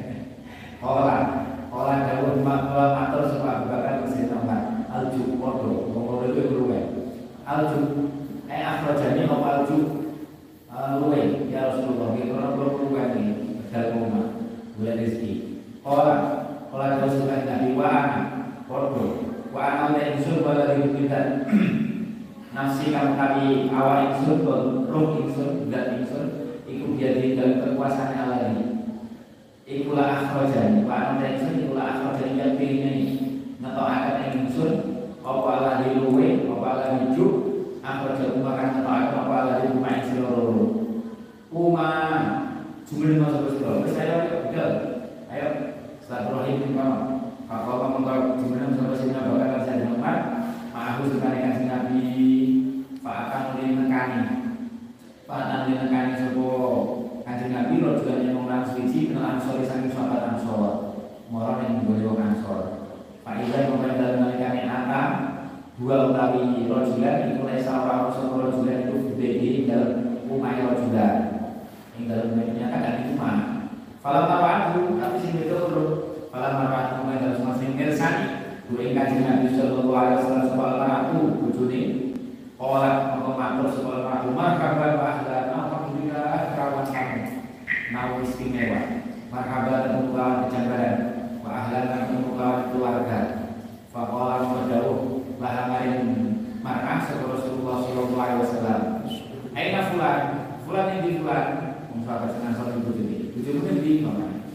olah daun matur sebab bakal mesin nomor alju kodo ngomong itu luwe alju akhrajani apa alju luwe ya Rasulullah kita orang luwe nih dalam kumah bulan rezeki olah daun sebab nabi wa anak kodo wa ana ingsun wala dibidan nafsi kang tawi awak ingsun roh ingsun zat ingsun iku biadi dalam kekuasaan Allah ini ikulah akhrajani wa ana ingsun ikulah akhrajani yang pilih ngetokaken ingsun apa Allah diluwe apa Allah dijuk akhraja umakan ngetokaken apa Allah diluwe seluruh uma jumlah masuk seluruh saya betul ayo Silaturahim bin Muhammad. Kalau mengkau jumlah sampai sini bakal saya dengar. Aku sekalian si Nabi. Pak akan mulai nekani. Pak akan mulai nekani sebuah kanjeng Nabi. Lo juga yang mengulang suci kenalan sore saking sahabat Ansor. Moron yang boleh Ansor. Pak Ibrahim memulai dalam nekani anak. Dua utawi rojulan itu mulai seorang seorang rojulan itu berdiri dalam umay rojulan. Yang dalam menyatakan itu mah. Falam marwa'atu tapi sing itu urut falam marwa'atu mung dalam masing mirsani duwe kanjeng Nabi sallallahu alaihi wasallam sebab aku bojone ora apa matur sebab aku marhaban wa ahlan alhamdulillah kerawan kami nawa istimewa marhaban untuk kejambaran wa ahlan untuk keluarga faqala mudauh lahamarin mar'ah sebab Rasulullah sallallahu alaihi wasallam aina fulan yang di fulan sahabat dengan satu bujuni bingung.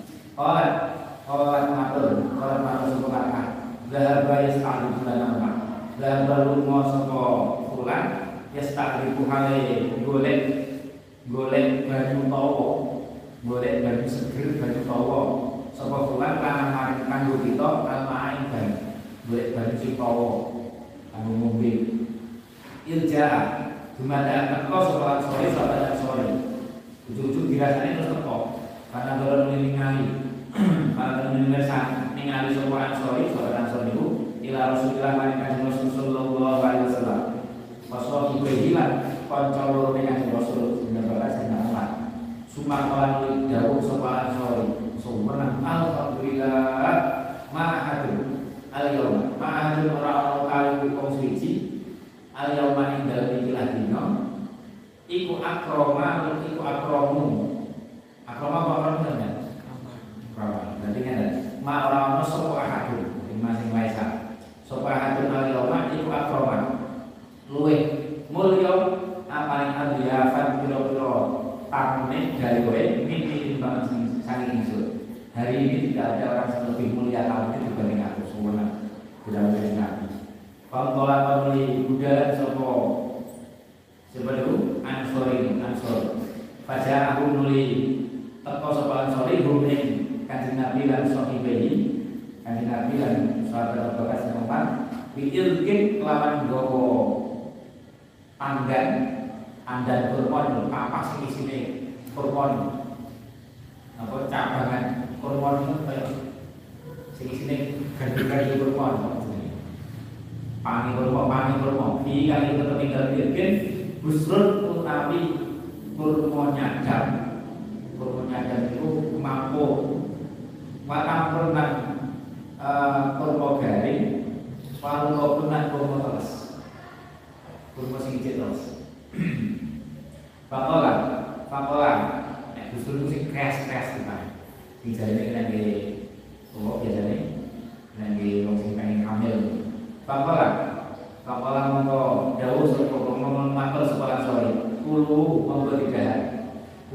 Orang matur sekolah zahaba yasta'rifu lana ma. Zahaba lunga saka fulan yasta'rifu hale golek baju tawa. Golek baju seger baju tawa. Saka fulan lan maring kanggo kita almain ban. Golek baju sing tawa kanggo ngombe. Ilja dumadakan teko saka sore. Ujung-ujung dirasanya terus teko karena dorong ningali karena ningali sopan Ansori itu ila Rasulullah kanjeng Rasul sallallahu alaihi wasallam pasal hilang kanca loro dengan Rasul bener-bener senang sumpah dawuh sopan Ansori sumberna alhamdulillah ma'ahadun al-yaum ma'ahadun ora kali wong suci al-yauma ing dalem iki dina iku akroma iku akromu akroma apa namanya akroma nanti kan ma orang sopo ahadun masing maisa sopo ahadun al-yawma iku akroma luwe mulya paling adiyafan piro-piro tamune dari kowe mimpi banget saking ingsun hari ini tidak ada orang yang lebih mulia tamunya dibanding aku semua tidak ada nabi pamtola pamuli budaya sopo sebelum Ansor. Pada aku nuli teko sapa Ansor rumeng kanjeng Nabi lan sahibihi. Kanjeng Nabi lan sahabat bekas tempat pikirke kelawan gowo andan kurban papas sing isine kurban. Apa cabangan kurban itu kaya sing isine gandeng-gandeng kurban. Pani kurma iki kali tetep tinggal bikin busrun utawi kurma nyadar itu mampu watampunan kurma garing walungopunan kurma teles kurma sing terus pakola busrun sing kres kita sing jarene lagi biasane lagi wong sing pengen hamil Pakola mongko dawuh sapa ngomong matur sapa Ansori kulu monggo didahar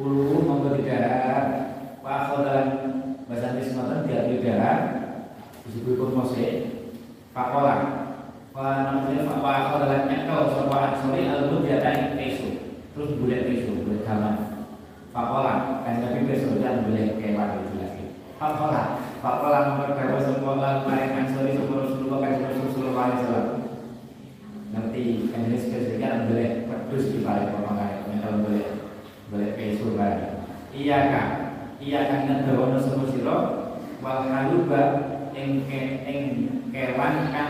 wa khodan bahasa Inggris ngoten didahar disebut kurmose pakola wa namanya wa khodan nyekel sapa Ansori alun diatai peso terus bulet gaman pakola kan tapi peso dan bulet kewan itu lagi pakola mongko dawuh sapa maring Ansori sapa Rasulullah kanjeng Rasul sallallahu alaihi wasallam nanti kan ini sekalian boleh pedus di balik pemakai kalau boleh peso balik iya kan ngedawono sapa sira wal haluba ing kewan kan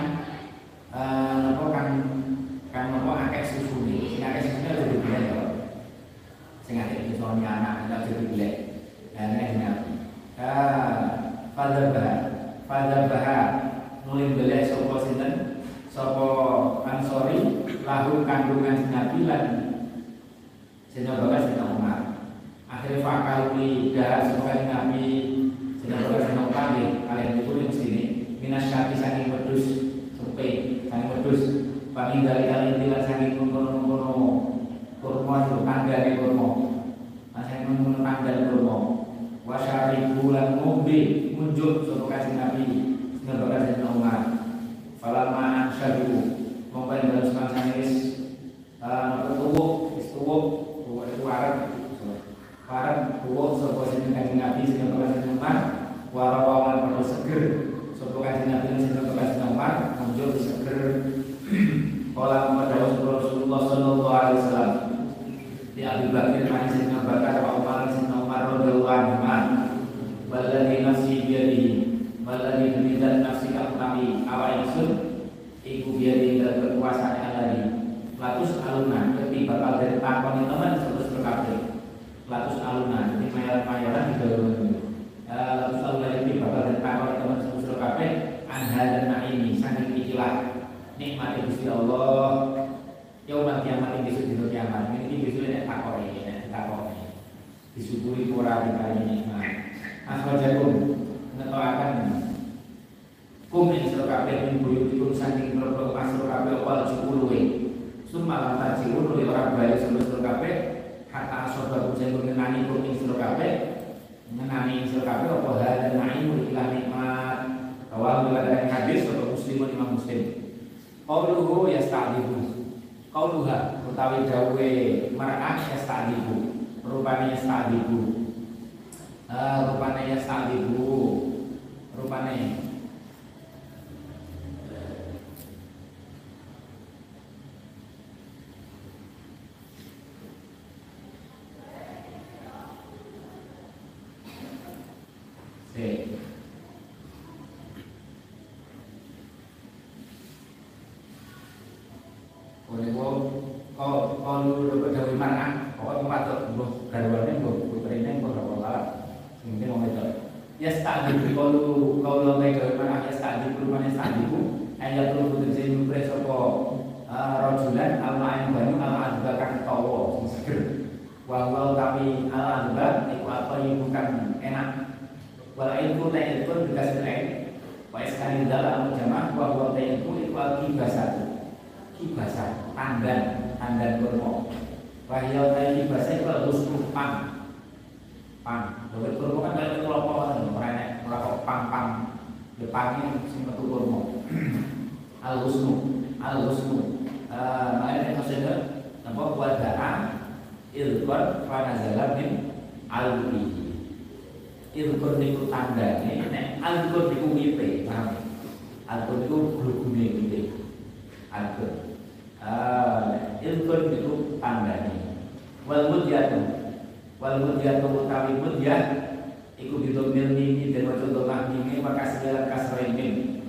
apa akeh susune sing akeh susune aja dibilek to sing akeh iso anak aja dibilek nek Fadzabah nulis belek sapa sinten sapa Ansori lahu kandungan Nabi lan Sayyidina Bakar Sayyidina Umar akhirnya fakali darah sebagai Nabi Sayyidina Bakar Sayyidina Umar kalian itu yang sini minas syati saking wedhus sepe Bagi dari kalian tidak sakit mengkono-kono kurma itu tanggane kurma. Masih mengkono tanggane kurma. Wasyari bulan ngombe munjuk sapa Kanjeng Nabi sing Kanjeng Umar. Falamma syadu mongko ing dalem semangsa wis tuwuk itu wareng tuwuk sapa Kanjeng Nabi sing Kanjeng Umar warawan perlu seger sapa Kanjeng Nabi sing Kanjeng Umar munjuk seger. Qala Rasulullah sallallahu alaihi wasallam di Abu Bakar hadis Abu Bakar wa Umar bin Umar radhiyallahu anhu walladzi nafsi biyadihi walladzi bidzat nafsi kami awa ingsun iku biyadihi dan berkuasa alladzi latus aluna dadi bakal den takoni teman terus kabeh latus aluna dadi mayaran di dalam latus aluna dadi bakal den takoni teman terus kabeh anha dan naimi saking ikilah nikmati Gusti Allah yaumul kiamat besok dina kiamat iki besok nek takoni disyukuri ora diparingi nikmat aswajakum ngetoaken kum ing sira kabeh min buyutikum saking mlebu masuk kabeh wal jukuluwe summa lan tajirun ora bali sira kabeh hatta asoba kujen ngenani kum ing sira kabeh ngenani sira kabeh apa hal naim ilah nikmat awal dari hadis atau muslimun imam muslim. Qauluhu yasta'dibu. Qauluha utawi dawuhe mar'ah yasta'dibu. Rupane yasta'dibu. Rupane yasta'dibu. Rupane kalau dapat dari mana? Pokoknya patut buh garwane buh putrine buh ora mungkin wong itu. Ya stadibu kalau dari mana ya stadibu mana stadibu ayat lu putri sing pres apa rajulan al-ma'in banu al-adba kang tawa sing seger. Wa tapi al-adba iku apa yang bukan enak. Wal ilmu ta'il pun dikasih lain. Wa iskani dalam jamaah wa ta'il iku kibasah tandan kurma. Wahya ta'i kibasah iku husnul pang. Dawet kurma kan kaya kelompok merenek ora pang depannya sing metu kurma. Al-husnu. Makanya maksudnya napa wada'a ilqan fanazala min al-bihi. Ilqan niku tandane nek alqan niku wite, paham? Alqan niku glugune wite. Alqan ilqan niku tandane. Wal mudyatu utawi mudyah iku didomil mimi dan maca domah mimi maka segala kasrain mim.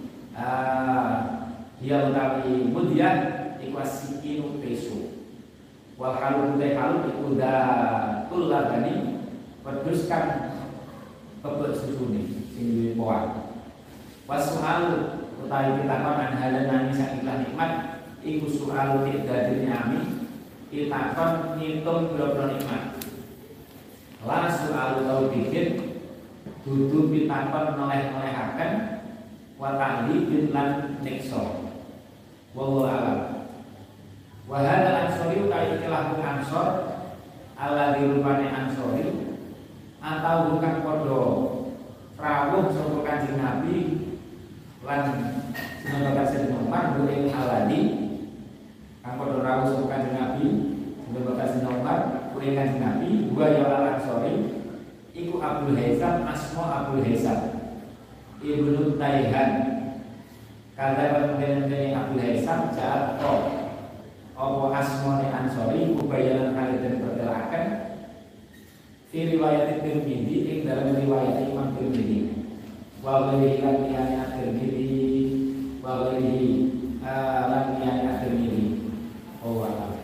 Dia utawi mudyah iku asikinu peso. Wal halu iku datul labani wedhuskan kebet susune sing duwe poan. Wasu'al utawi pitakon anhalan nami sakiklah nikmat iku su'al tidadil nyami pitakon ngitung biro-biro nikmat. La su'al tau bikin dudu pitakon noleh-nolehaken wa ta'libin lan nikso. Wallahu a'lam. Wa hadal ansori utawi ikilah ansor alladzi rupane ansori atau bukan podo rawuh sapa Kanjeng Nabi lan sinambakan Sayyidina Umar buing aladi kang podo rawuh sapa Kanjeng Nabi sinambakan Sayyidina Umar buing Kanjeng Nabi wa ya al-ansori iku Abdul Haisam asma Abdul Haisam Ibnu Taihan kada kemudian Abdul Haisam jatuh apa asmane ansori ubayanan kali dan bertelakan di riwayat Tirmidzi ing dalam riwayat Imam Tirmidzi wa ghairi lan Tirmidzi wa ghairi lan Tirmidzi oh Allah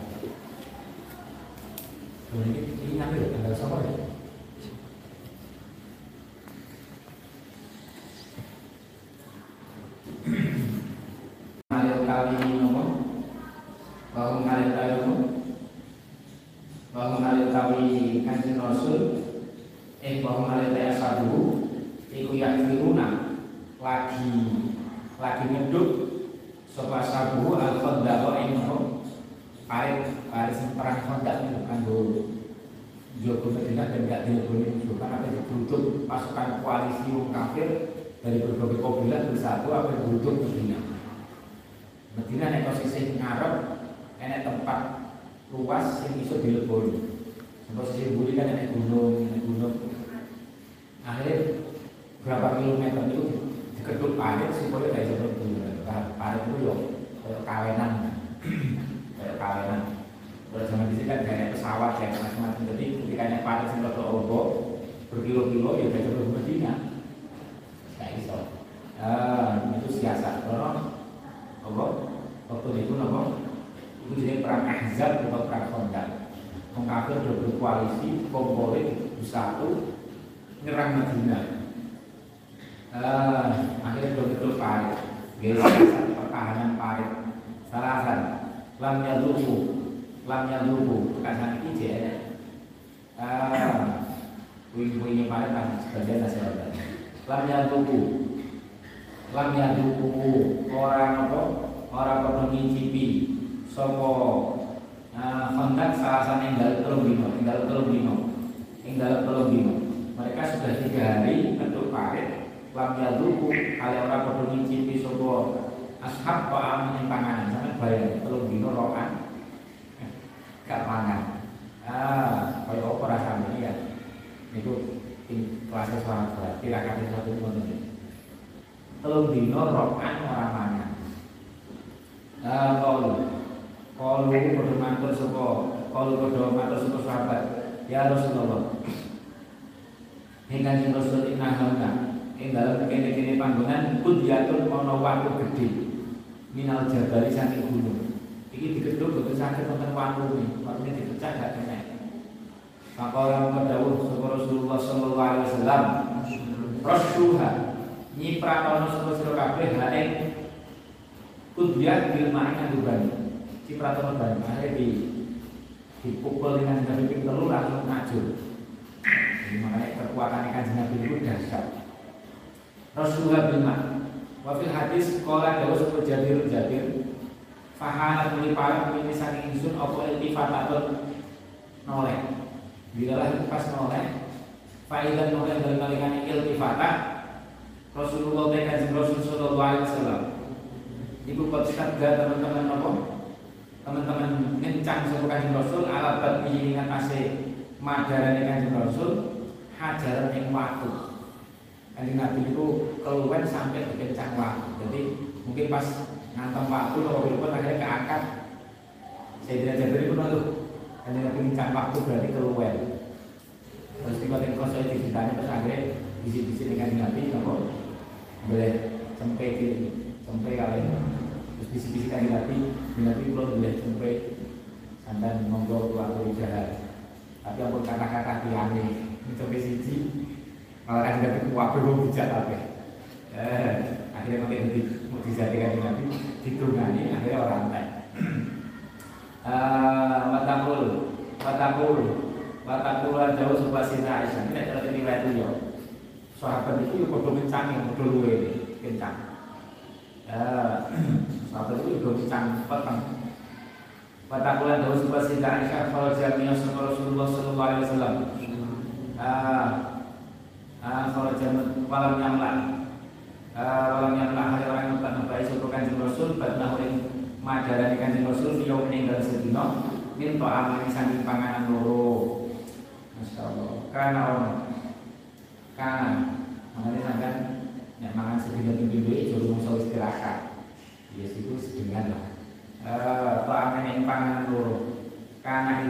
ini ngambil tanggal sama ya malih kali nomor bahwa malih kali nomor bahwa malih Kanjeng Rasul bahwa malih sadu iku yakfiruna lagi ngeduk Sapa sabu al-Khandaq ing parit perang Khandaq itu kanggo Jogo Madinah dan gak dileboni musuh kan apa dibutuh pasukan koalisi wong kafir dari berbagai kabilah bersatu apa dibutuh Madinah. Madinah nek posisi ngarep enek tempat luas yang bisa dileboni. Posisi buri kan enek gunung. Akhirnya berapa kilometer itu diketuk parit supaya gak bisa berburu. Parit itu yo kayak kawenan. Kalau zaman di sini kan banyak pesawat yang macam-macam. Jadi ketika naik parit sing rada ombo berkilo-kilo ya bisa berburu Madinah. Gak iso. Itu siasat. Apa? Waktu itu apa? Itu jadi perang Ahzab atau perang Khandaq. Wong kafir udah berkoalisi, kompolit bersatu nyerang Madinah. Akhirnya betul parit. Geser pertahanan parit. Salasan lamnya lupu kasan iki jene. Wing-wingnya parit kan sebagian nasional. Lamnya lupu orang apa? Orang padha ngicipi sapa Khandaq salasane tinggal telung dino. Mereka sudah 3 hari bentuk parit lamnya lupu kali orang padha ngicipi sapa ashab kok amin panganan sampe bayang telung dino rokan gak pangan. Kaya apa rasane ya. Niku kelas sahabat tirakat satu ngono. Telung dino rokan ora mangan. Kalau padha matur sapa sahabat, ya Rasulullah. Hingga Rasul innahamna ing dalem kene-kene panggonan kudyatun ana watu gedhe. Minal jabali saking gunung. Iki digedhuk boten saged wonten watune dipecah gak kena. Maka orang dawuh sapa Rasulullah sallallahu alaihi wasallam, "Rasyuha nyipratono sira kabeh hae kudyat bil ma'in andubani." Cipratono ban akhirnya dipukul dengan Nabi ping 3 langsung ngajur. Jadi makanya kekuatan Kanjeng Nabi itu dahsyat. Rasulullah bil ma'. Wa fil hadis qala dawuh sapa Jabir fahana mulipalan ini saking ingsun apa iltifatatun noleh. Bilalah pas noleh faidan noleh dari kalikan iltifatah Rasulullah Kanjeng Rasul sallallahu alaihi wasallam. Ibu kota teman-teman apa? Teman-teman ngencang sapa Kanjeng Rasul ala bab ingat asih madarane Kanjeng Rasul hajaran ing watu. Kanjeng Nabi itu keluwen sampai dikencang watu. Jadi mungkin pas ngantem waktu kalau pun akhirnya keangkat. Saya tidak jadi pun lalu Kanjeng Nabi ngencang waktu berarti keluwen. Terus tiba-tiba kalau saya ceritanya terus akhirnya bisi-bisi dengan Kanjeng Nabi nopo boleh sampai kalian terus bisi-bisi Kanjeng Nabi belum boleh sampai sampai monggo keluarga jahat. Tapi ampun kata-kata tiane sampai siji malah Kanjeng Nabi kuwabe wong bijak kabeh. Akhirnya mungkin mukjizat Kanjeng Nabi ditungani akhirnya orang entek. Watakul jauh sebelah sini Aisyah. Ini adalah riwayat itu. Sahabat itu padha kencang yang padha luwe kencang. Sahabat itu udah kencang peteng. Watakul jauh sebelah sini Aisyah kalau jamiah sama Rasulullah sallallahu alaihi wasallam. Kalau jamin malam nyamlan. Walam yang lahir orang yang tak nabai suku Kanjeng Rasul badnahu ing madarani Kanjeng Rasul fiyo meninggal sedina minta amani saking panganan loro. Masyaallah. Karena mangane sampean nek mangan sedina tinggi jero mung istirahat. Ya siku sedengan lah. To amani ing panganan loro. Karena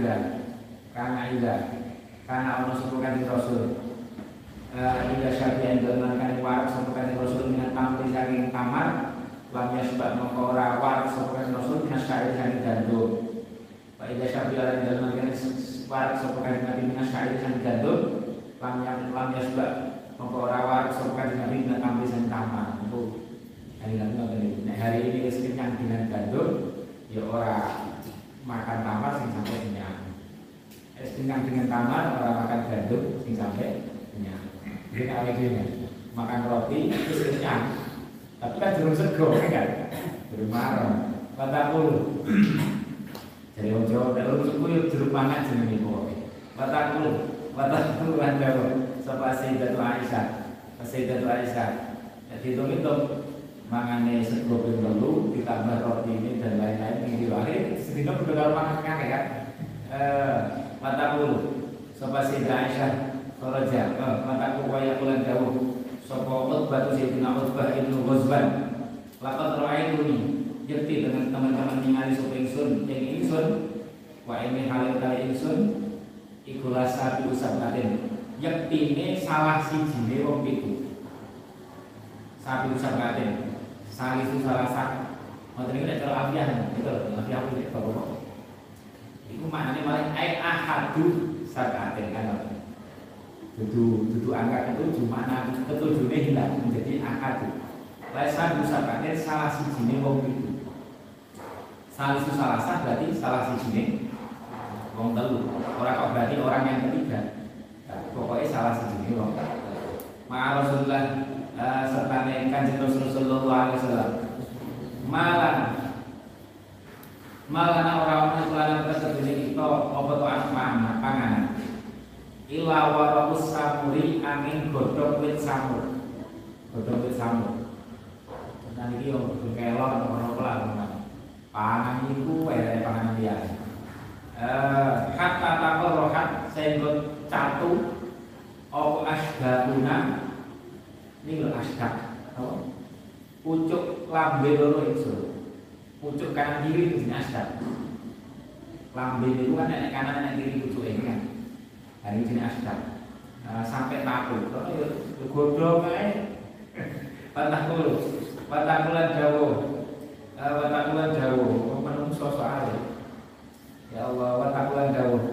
ana suku Kanjeng Rasul ila syafi'in dalam kali warak sampai Rasul dengan tampil saking kamar lamnya sebab mengkora warak sampai Rasul dengan syair saking gandum. Pak ila syafi'in dalam kali warak sampai Nabi dengan syair saking gandum lamnya sebab mengkora warak sampai Nabi dengan tampil saking kamar. Itu hari Nabi. Nah hari ini kenyang dengan gandum ya orang makan kamar sing sampai kenyang. Kenyang dengan kamar orang makan gandum sing sampai kenyang. Jadi kalau gini, makan roti itu kenyang, tapi kan belum sego kan? Marem. Watakul. Jadi wong Jawa nek urus suku yo jeruk mangan jenenge pokoke. Watakul lan dawuh sapa Sayyidatu Aisyah. Sayyidatu Aisyah. Jadi hitung-hitung mangane sego ping 3 ditambah roti ini dan lain-lain ning diwahe sedina kudu karo mangan akeh kan. Watakul sapa Sayyidah Aisyah Kharaja. Watakul waya kulan dawuh sapa Utbah Sayyidina Utbah ibnu Ghazban. Laqad ra'aituni yakti dengan teman-teman ningali sapa ingsun ing ingsun wa ini halal kali ingsun iku lasa usamatin yaktine salah sijine wong pitu sapi usamatin salah itu salah sak ngoten iki cara afiah gitu afiah iki bapak iku maknane malah ai ahadu sakaten kan dudu angka ketujuh makna ketujuhnya hilang menjadi ahadu lasa usamatin salah sijine wong pitu. Salah itu salah sah berarti salah sijine wong telu. Ora kok berarti orang yang ketiga. Pokoknya salah sijine wong telu. Ma Rasulullah serta Kanjeng Rasul sallallahu alaihi wasallam. Malan orang lan kesedene kita apa to panganan. Illa waraqus samuri angin godhong wit samur. Godhong wit samur. Nah iki yo kelon ora pelan. Pangan itu panganan biasa. Hatta takor rohat sehingga catu opo asdaquna ini lho asdaq pucuk lambe loro itu pucuk kanan kiri itu jenis asdaq lambe itu kan nenek kanan nenek kiri pucuk ini kan hari ini jenis asdaq sampai taku kalau ya godhong ae patakulan jauh watakulan jauh menungso soal ya Allah watakulan jauh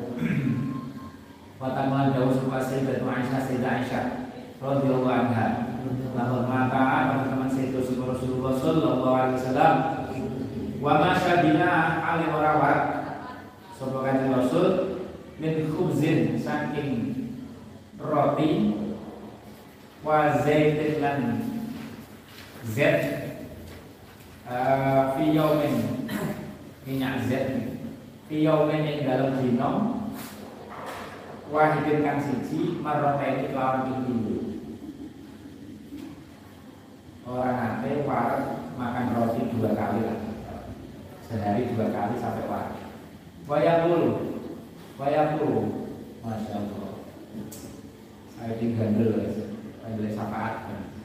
supaya Sayyidatu Aisyah radhiyallahu anha lahir mata teman Sayyidatu Rasulullah sallallahu alaihi wasallam wa masyadina ali warawat sapa Kanjeng Rasul min khubzin saking roti wa zaitin lan zait fi yaumin minyak zait fi yaumin ing dalem dina wahidin kang siji marrataini kelawan pindho orang ate wareg makan roti 2 kali lah sehari 2 kali sampai wareg wayaqulu Masya Allah saya tinggal syafaat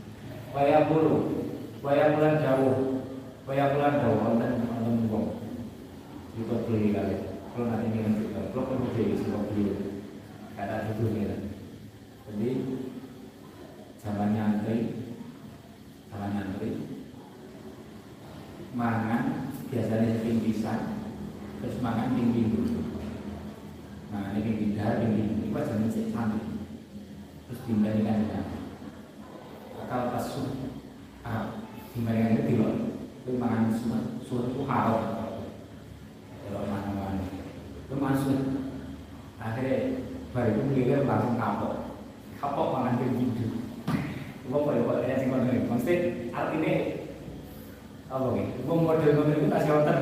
wayaqulan jauh wonten wong itu beli kali kalau nanti minum juga kalau perlu beli sebab beli kata itu nih jadi zaman nyantri mangan biasanya seping pisang terus mangan ping dulu nah ini ping ini pas zaman santri terus dibandingkan dengan akal pasuh dibandingkan itu loh itu makan surat itu haram kalau mana-mana itu masuk akhirnya baru itu melihat langsung kapok makan begitu itu apa ya sih konten maksudnya artinya apa gitu itu model itu kasih otak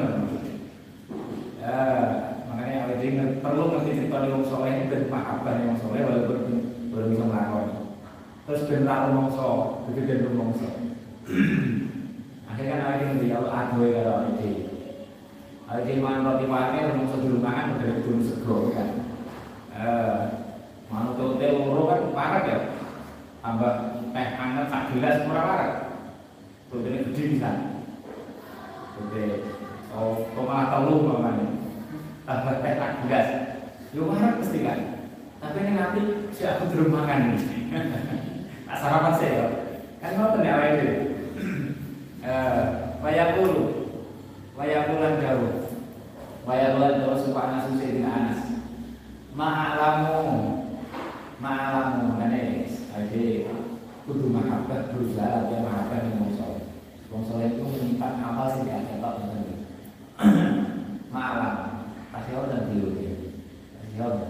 makanya awal ini perlu ngerti cerita di wong soleh dan mahabbah wong soleh walaupun belum bisa melakukan terus bentar mongso begitu dan mongso akhirnya awal ini dia aduh kalau ini mangan roti pake mongso dulu makan udah belum sego kan manut hotel loro kan parah ya tambah teh hangat sak gelas murah parah hotelnya gede bisa hotel malah telu mamanya tambah teh sak gelas lu parah pasti kan tapi ini nanti si aku dulu makan nih tak sarapan sih ya kan mau tanya apa itu wayakulan jauh supaya Anas Sayyidina Anas ma'alamu manis jadi kudu mahabbah berusaha dia mahabbah yang wong soleh itu menyimpan amal sih gak cetok bener ma'alam kasih order dulu kasih order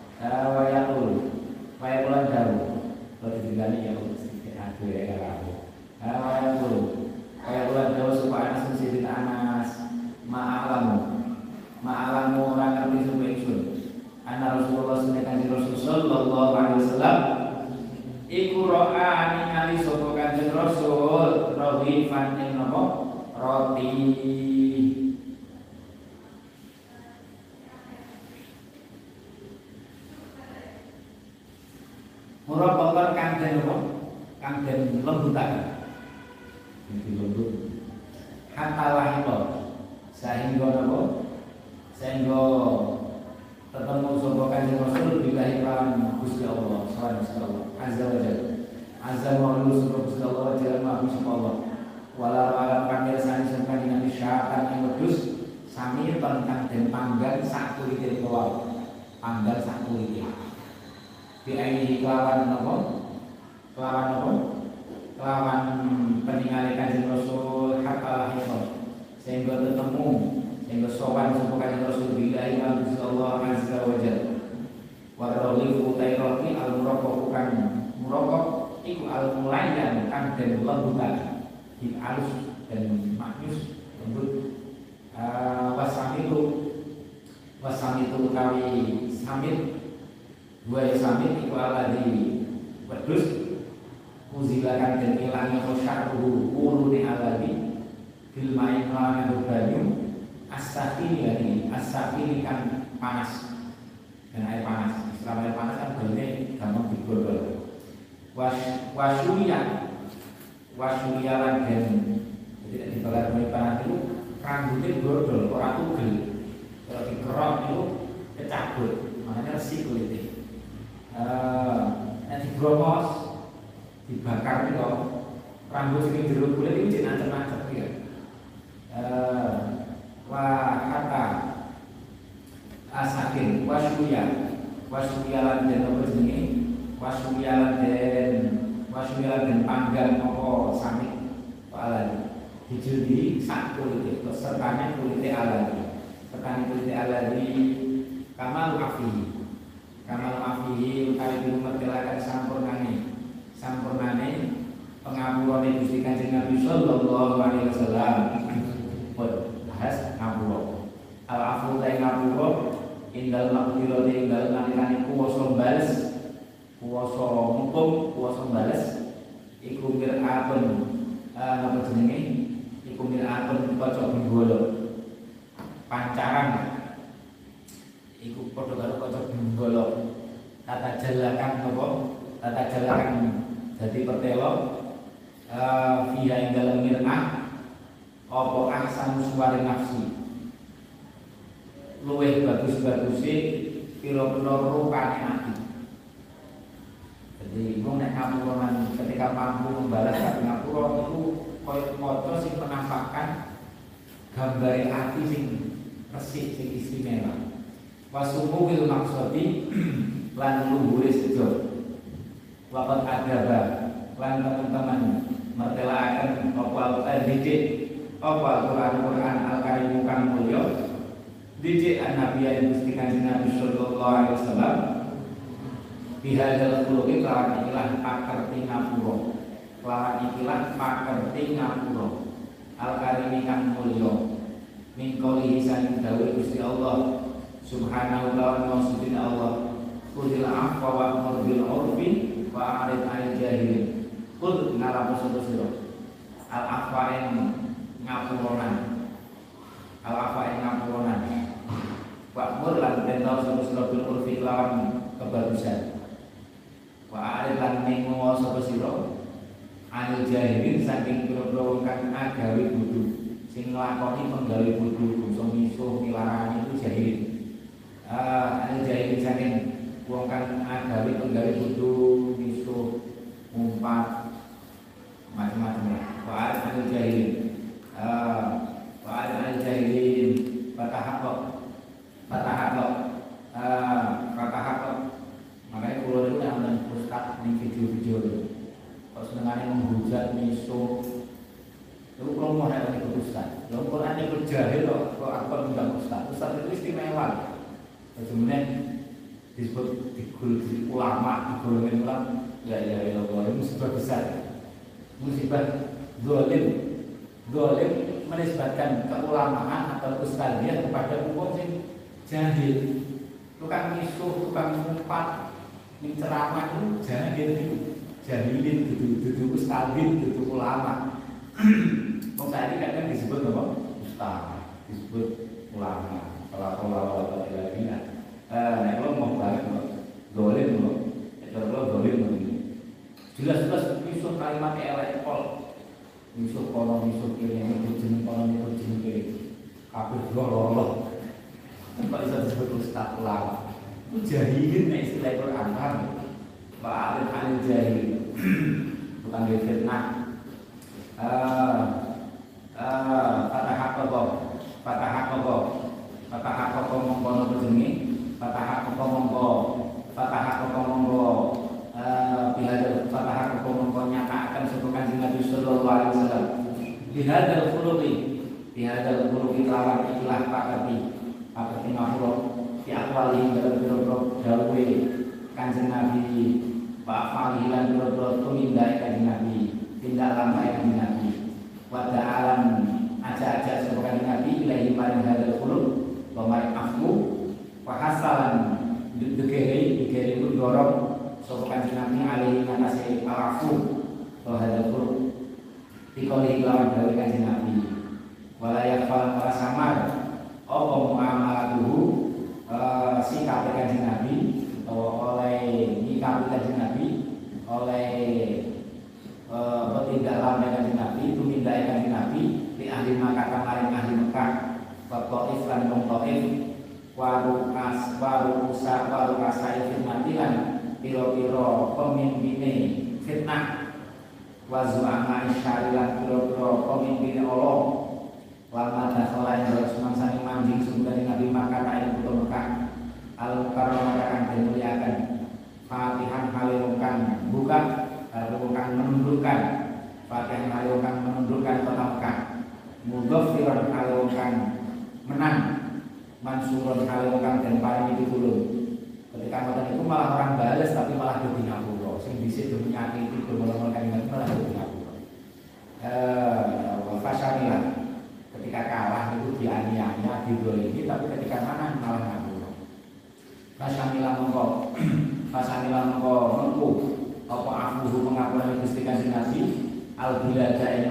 wayakulan jauh kalau ditinggali ya sedikit aduh ya kalau wayakulan jauh supaya Anas Sayyidina Anas roti. Murabbakan kang den apa? Kang den lembutan. Iki lembut. Hatta lahito sehingga apa? Sehingga ketemu sapa Kanjeng Rasul billahi lawan Gusti Allah, sawan Gusti Allah azza wa jalla. Azza wa jalla sapa Gusti Allah wa jalla ma sapa Allah. Wala alam pangersani sapa Nabi syaitan ing wedhus sami tentang den panggan sak kulite kawal. Panggan sak kulite. Diaini kelawan apa? Kelawan apa? Kelawan peninggalan Kanjeng Rasul hatta lahir sehingga ketemu sehingga sowan sapa Kanjeng Rasul billahi wa Allah azza wa jalla. Wa rawifu tayrati al-muraqqaq kan muraqqaq iku al-mulayyan kan den lembutan hip alus dan maknyus lembut. Wasamitu utawi samit dua samit iku ala di wedhus muzilakan dan ilangnya khosyaruhu uluni aladi filmai melawan banyu asafini kan panas dan air panas. Istilah air panas kan bener gampang digorol. Wasyulialan dan tidak dibalar panas itu rambutnya gordol orang tugel. Kalau dikerok itu kecabut makanya resik kulitnya. Nanti bromos dibakar itu rambut sing jero kulit itu jeneng ancem-ancem ya. Kata asakin wasyuyalan den apa jenenge wasyuyalan den panggang apa samit alani dijudi sak kulite sertane kulite alani kamal afihi utawi dimertelaken sampurnane pengapurane Gusti Kanjeng Nabi sallallahu alaihi wasallam. Bahas ngapura al-afu ta ngapura indal maqdirati indal nalikane kuwasa bales kuwasa mukum kuwasa bales iku miratun napa jenenge iku miratun kaca binggala pancaran iku padha karo kaca binggala tata jalakan dadi pertelo via ing dalem mirah apa ahsan suwari nafsi luwih bagus-baguse pira-pira rupane ati. Jadi wong nek ngapuran ketika mampu membalas ati ngapura itu koyo foto sing menampakkan gambare ati sing resik sing istimewa. Wasumuhil maksudi lan luhure sejo. Wabat adaba lan teman-teman mertelaaken apa didik apa Al-Quran Al-Karim kang mulya didik an-nabi Gusti Kanjeng Nabi sallallahu alaihi wasallam bihadzal khuluqi lawan ikilah pakerti ngapura Al-Karim kang mulya min qoulihi saking dawuh Gusti Allah subhanahu wa ta'ala Allah khudil afwa wa'mur bil 'urfi wa a'rid 'anil jahilin. Khud ngarep sira al-afwa ngapuronan wa'mur lan perintah sira bil 'urfi lawan kebagusan wa a'rid lan mengo sapa sira 'anil jahilin saking pira-pira wong kang agawe bodho sing nglakoni penggawe bodho bangsa misuh milarani itu jahilin. Anil jahilin saking wong kang agawe penggawe bodho misuh umpat macam-macam lah. Wa'ad anil jahilin patahakok makanya kalau itu yang ustaz di video-video itu kalau senengannya menghujat misuh itu kalau mau ada ikut ustaz kalau Quran ikut jahil kok aku undang ustaz itu istimewa. Sebenarnya disebut di ulama digolongin ulama ya Allah ini musibah besar, musibah zalim menisbatkan keulamaan atau ustadziyah kepada umum yang jahil, tukang misuh, tukang umpat, ceramah itu jahilin, dudu ustadzin, dudu ulama. Wong saiki kadang disebut apa? Ustaz, disebut ulama. Kalau lagi nek kalau mau banget dolim loh. Kalau dolim jelas-jelas iso kalimat elek pol. Iso kono iso kene iso jeneng kono iso jeneng kene. Kabeh loro. Kok iso disebut ustaz ulama? Ku jahilin nek istilah Quran kan. Pak Alim jahil. Bukan dia fitnah. Fatah apa mongko jenenge fatah apa mongko bihadal fatah apa mongko nyatakan sapa Kanjeng Nabi sallallahu alaihi wasallam bihadal khuluqi lawan ikhlas pakati ngapura di akwali dalam biro dawuhe Kanjeng Nabi Pak Falilan biro tumindai Kanjeng Nabi tindak lampai Kanjeng Nabi wada'alan aja-aja sapa Kanjeng Nabi ilahi maring hadal khuluq pemain aku pahasalan dikeri itu dorong sopo Kanjeng Nabi alaihi ngatasi alafu hadapur dikoli lawan dari Kanjeng Nabi walayak falang para samar apa mu'amalatuhu sikap Kanjeng Nabi atau oleh nikah Kanjeng Nabi oleh bertindak lambai Kanjeng Nabi itu mindai Kanjeng Nabi di ahli Makkah kamarin ahli Mekah Taif lan wong Taif waru kasai fitnatilan piro-piro pemimpine fitnah wazu'ama isyarilan piro-piro pemimpine Allah lama dakhala yang semangsane manjing sumber Nabi Makkah kain putu Mekah al-mukarramah akan dimuliakan Fatihan halirungkan buka halirungkan menundukkan Fatihan halirungkan menundukkan kota Mekah mudhafiran halirungkan menang mansurun halungkang dan paling itu dulu ketika ngoten itu malah orang balas tapi malah dadi ngapura sing dhisik demi nyakiti domel-domel kan malah dadi ngapura fasanilah ketika kalah itu dianiaya didolimi tapi ketika menang malah ngapura fasanilah mengko apa afuhu pengakuan Gusti Kanjeng Nabi al-biladain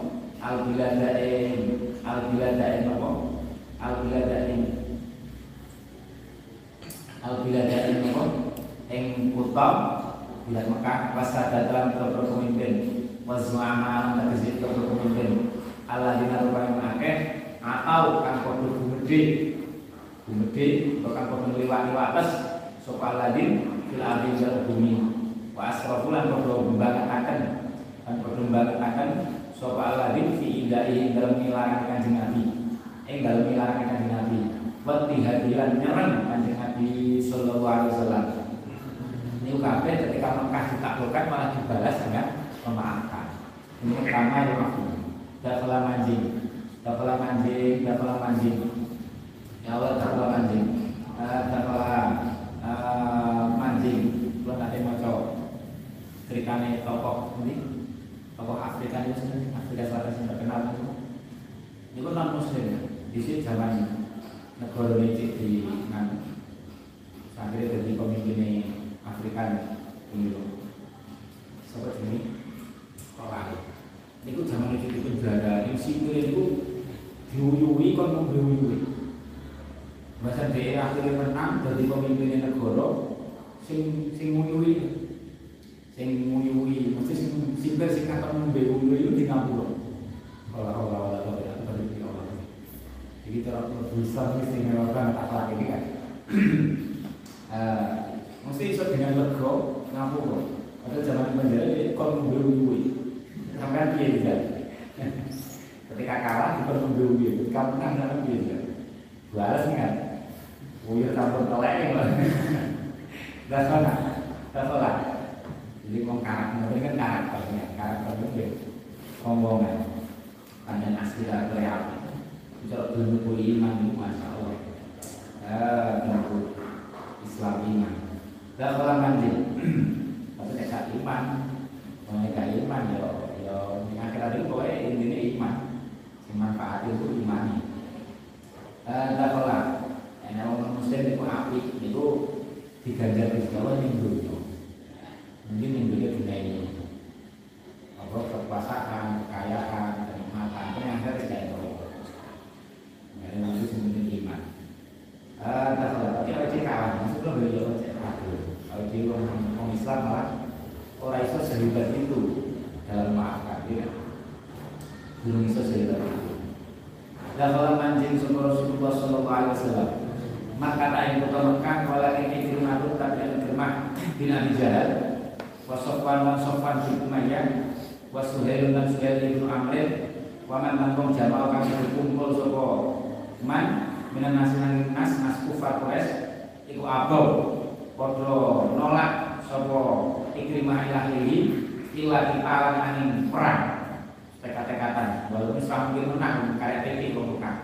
al-biladain ing kutha bilad Mekah wasada dalam pemimpin wazma'ama tegese pemimpin alladzina rupane akeh atau kang padha gumedhe kang padha ngliwati wates sapa alladin fil ardi ing bumi wa asrafulan padha mbangetaken sapa alladin fi idai dalam milaran Kanjeng Nabi dalam milaran Kanjeng Nabi wati hadilan nyerang Kanjeng Nabi sallallahu alaihi wasallam. Ini kabeh ketika Mekah ditaklukkan malah dibalas dengan memaafkan. Ini pertama yang aku. Dakhala manjing. Ya Allah dakhala manjing. Manjing. Belum ada maca. Ceritane tokoh ini. Tokoh Afrika itu sendiri, Afrika Selatan yang terkenal itu. Ini pun non Muslim. Di sini zaman negara Mesir di akhirnya jadi pemimpin Afrika ini seperti ini orang ini ku zaman itu di penjara yang sipil itu diuyui kan mau diuyui bahasa daerah akhirnya menang jadi pemimpin negara sing nguyui mesti sipil sing kata membuyui itu di ngapura Allah jadi cara berusaha istimewa banget akhlak ini kan mesti iso dengan lega ngapura ada zaman penjara itu kon membuyui sampai piye juga ketika kalah itu membuyui ketika menang sampai piye juga balas kan buyur campur teleng dah salah jadi karakter ini kan karakternya dia omongan tanya asli dan real kalau belum punya iman itu masalah Islam iman dan kalau manjing tapi tidak iman mereka iman ya di akhirat itu pokoknya intinya iman manfaat itu imani dan kalau orang muslim itu api itu diganjar di Jawa minggu mungkin minggunya dunia ini apa kekuasaan, kekayaan, kenikmatan manjing sapa Rasulullah sallallahu alaihi wasallam. Maka ta'in kota Mekah wala Ikrimah tapi Ikrimah bin Abi Jahal wa Sofwan lan Sofwan bin Umayyah wa Suhail lan Suhail bin Amr wa man nangkong jamaah kang kumpul sapa man minan nas kufar Quraisy iku abau padha nolak sapa Ikrimah ilahi ila dipalang angin perang tekad-tekatan walaupun Islam mungkin menang kayak PP pembuka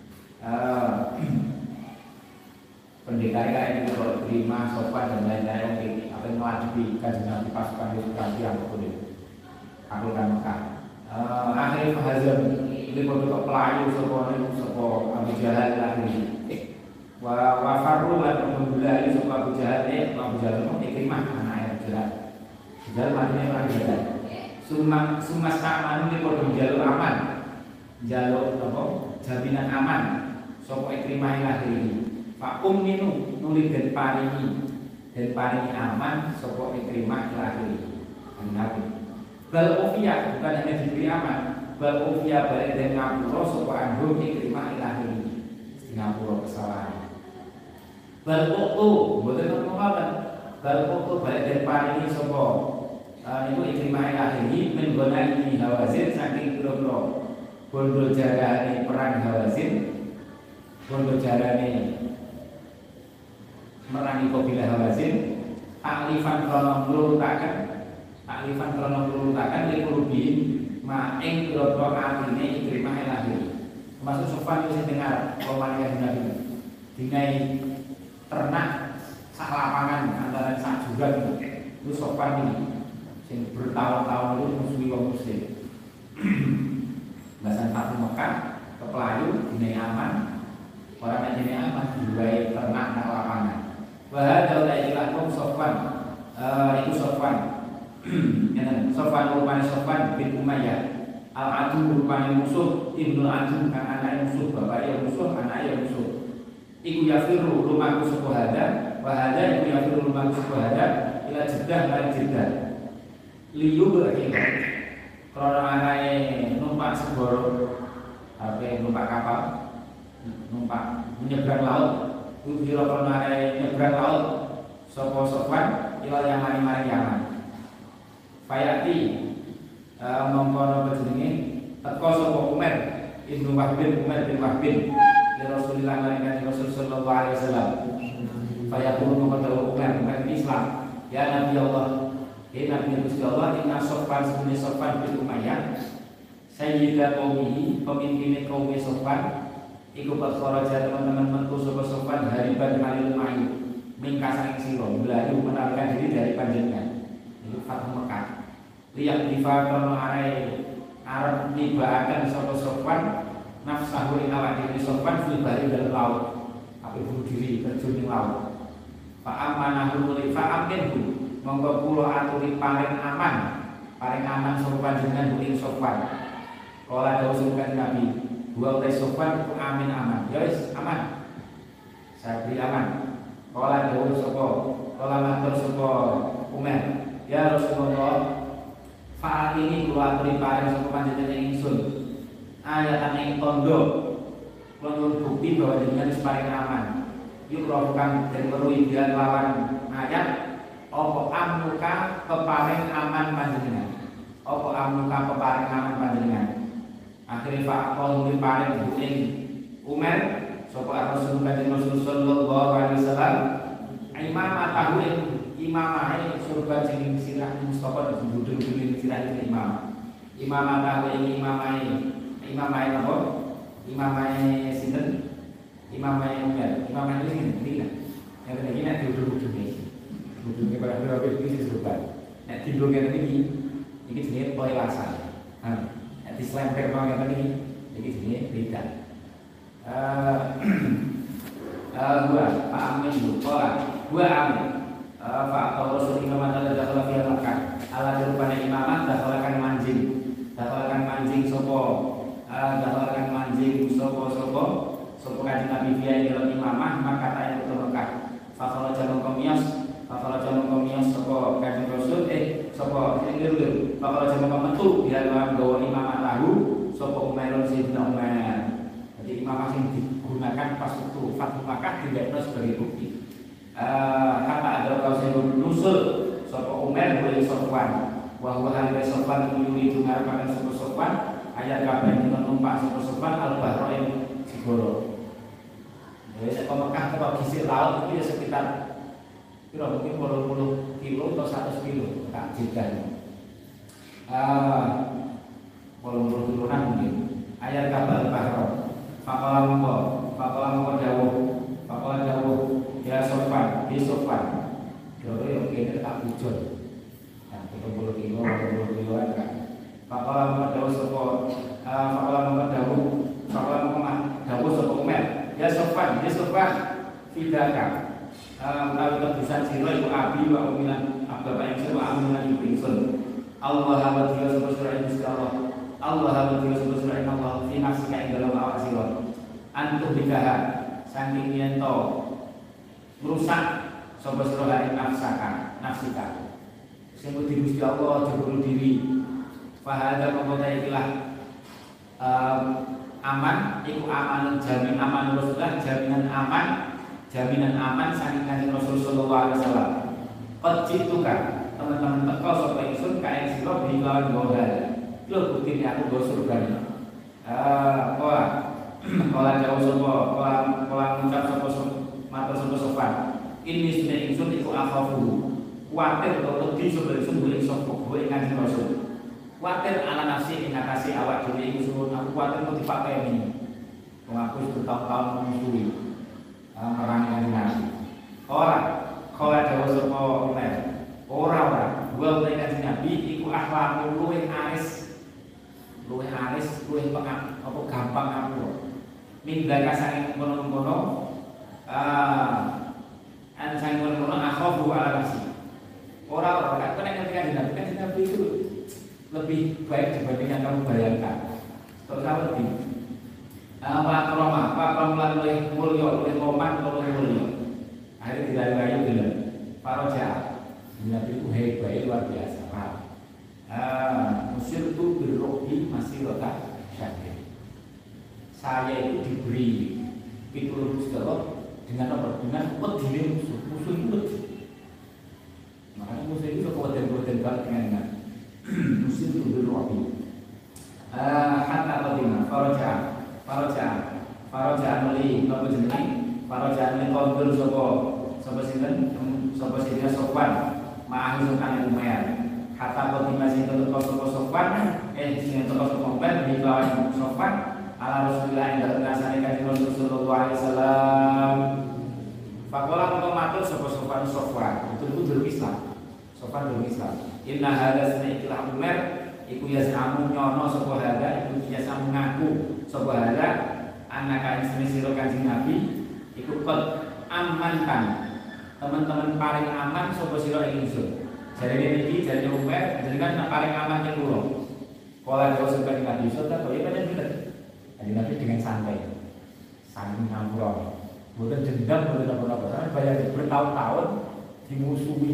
pendekar kayak itu kalau terima sopan dan lain-lain PP apa yang melajubi kajian Nabi pasukan itu yang betul aku kan Mekah akhirnya Hazam ini produk pelayu sopo Abu Jahal lagi wa faru lan membulai sopo Abu Jahal Abu Jahal itu Ikrimah anak Abu Jahal Jahal matinya orang Jahal Sumas aman ini produk jalur aman jalur apa jaminan aman sopo Ikrimah lagi Pak Ninu nulis dan paringi aman sopo Ikrimah lagi Nabi bal ofia bukan hanya diberi aman bal ofia balik dari ngapura sopo anhum Ikrimah ilahi ngapura kesalahan bal okto bukan ngomong bal okto balik dari paringi sopo niku Ikrimah ilahi menggonai Hawazin saking kira-kira bondo jarane perang Hawazin bondo jarane merangi kabilah Hawazin taklifan krono nglurutaken likulubi maing kira-kira atine Ikrimah ilahi termasuk Sofwan itu dengar pemanikan Nabi dinai ternak sak lapangan antara sak jurang itu Sofwan ini yang bertahun-tahun itu musuhi wong muslim bahasan Fathu Mekah ke Pelayu dinai aman orang yang dinai aman diwai ternak nak lapangan wahada ulah ilah wong Sofwan itu Sofwan Sofwan rupanya Sofwan bin Umayyah Al-Adu rupanya musuh Ibnu Adu kan anak musuh bapak yang musuh anak yang musuh iku yafiru lumaku sukuhada wahada iku yafiru lumaku sukuhada ila jedah maring jedah liyu berarti kalau anaknya numpak segoro numpak kapal numpak menyeberang laut itu kira kalau anaknya menyeberang laut sopo Sofwan ila yang mari Yaman Fayati mengkono berjenenge teko sopo Umar Ibnu Wahbin Umar bin Wahbin ya Rasulullah ngalikan Rasul sallallahu alaihi wasallam Fayaqulu mengkono Umar Islam ya Nabi Allah Nabi Gusti Allah inna Sofwan sebenarnya Sofwan bin Umayyah sayyidah qaumihi pemimpin kaum Sofwan iku berkharaja teman-teman mentu sapa Sofwan hariban halil mayu mingkasang sira mlayu menarikan diri dari panjenengan itu Fathu Mekah liyak difa krono arep nibaaken sapa Sofwan nafsahu ing awak dhewe Sofwan fil bari dalam laut ape bunuh diri terjun ing laut fa amanahu li fa aminhu monggo kula aturi paling aman sapa panjenengan ing Sofwan. Kala dawuh sapa Nabi, wa utai Sofwan ku amin aman. Ya wis aman. Saya beri aman. Kala dawuh sapa, kala matur sapa Umar, ya Rasulullah, faat ini kula aturi paring sapa panjenengan ingsun. Ayatan ing tondo kula bukti bahwa jenengan wis paling aman. Yuk rohkan dan meruhi dia lawan ayat opo amnuka peparing aman panjenengan opo amnuka peparing aman panjenengan akhirnya fa'akol diparing buing Umar sapa Rasul kanjeng Rasul sallallahu alaihi wasallam imamah tahu imamah surga jeneng sirah Mustafa duduk di sirah imamah tahu imamah apa imamah sinten imamah Umar imamah ini sinten yang tadi nak duduk ujungnya pada berapa ini disebutkan. Nek timbulnya tadi ini jenis pelewasan. Nek diselempir orang yang tadi ini jenis beda. Dua Pak Amin dua Amin Pak Rasul Imam adalah dakhala fi Makkah ala rupane imaman dakhalakan manjing sopo kanjeng Nabi fiya dalam imamah maka tayin ke Mekah fakala jamu komiyas sapa kanjeng Rasul sapa ngir fakala jamu metu dia lawan gawa imamah tahu sapa Umar Sayyidina Umar Jadi imamah yang digunakan pas waktu Fathu Makkah tidak sebagai bukti. Kata ada kalau nusul sopo Umar boleh Sofwan, bahwa hal Sofwan menyuri dengar pada sopo Sofwan ayat kabar yang menumpak sopo Sofwan al-Bahro yang Sigoro. Jadi saya Mekah ke gisik laut itu ya sekitar kira mungkin 80 kilo atau 100 kilo tak jidan. 80 kilo mungkin. Ayat kabar Bahro. Fakola mongko dawuh ya Sofwan, di Sofwan. Kira-kira yang kini tak bujur. Nah, 30 kilo kan. Fakola mongko dawuh sapa Umar. Ya Sofwan, fidaka. Menawi kebisan sira iku abi wa umilan bapak ingsun wa aminan ibu ingsun. Allah wa tiya sapa sira Allah. Allah wa tiya sapa sira Allah fi nafsika ing dalam awak sira. Antuh dikaha saking yen to merusak sapa sira ing nafsika. Sing kudu Gusti Allah jebul diri. Fahada mongko ikilah aman iku aman jamin aman Rasulullah jaminan aman saking Kanjeng Rasul sallallahu alaihi wasallam. Qad jituka teman-teman teko sapa ingsun kae sira bilawan gohal. Lho bukti aku go surga. Kala jauh sapa kala ngucap sapa matur sapa Sofwan. Ini sunne ingsun iku akhafu. Kuwatir utawa wedi sapa ingsun boleh sapa kowe Kanjeng Rasul. Kuwatir ala nafsi ing atase awak dhewe ingsun aku kuwatir kok dipateni. Wong aku bertahun-tahun menyusui merangi Nabi. Kala jauh sapa Umar. Ora gua utai Kanjeng Nabi iku akhlakmu luwih aris, luwih apa gampang aku. Mindaka saking kono-kono saking kono akhafu ala nafsi. Ora kan Kanjeng Nabi itu lebih baik dibanding yang kamu bayangkan. Terus apa lagi? Pak Kroman oleh mulia, oleh Roman, oleh mulia. Akhirnya dilari-lari bilang, Pak Roja, Nabi itu hebat, luar biasa. Musir itu berrobi masih letak syakir. Saya itu diberi pitulung segala dengan apa? Dengan wedine musuh itu wedi. Makanya musuh itu kewajiban banget dengan Muslim itu berrobi. Hatta qatima faraja meli napa jenenge faraja meli qaul sapa sinten Sofwan ma'ahu sukan Umar. Hatta qatima sinten sapa Sofwan sinten sapa Umar di lawan Sofwan ala Rasulullah ing dalem ngasane Kanjeng Rasul sallallahu alaihi wasallam. Faqala mongko matur sapa Sofwan itu durung Islam. Sofwan durung Islam. Inna hadza sana'ilah Umar iku yasamu nyono sapa hadza iku yasamu ngaku sapa hadza anak ing sira Kanjeng Nabi iku qad amankan teman-teman paling aman sapa sira ing ingsun. Jarene niki jarene Umar jenengan paling aman ing kula. Kala dawuh sapa Nabi sallallahu alaihi wasallam bener. Kanjeng Nabi dengan santai. Saking ngampura. Mboten dendam mboten apa-apa. Bayar bertahun-tahun dimusuhi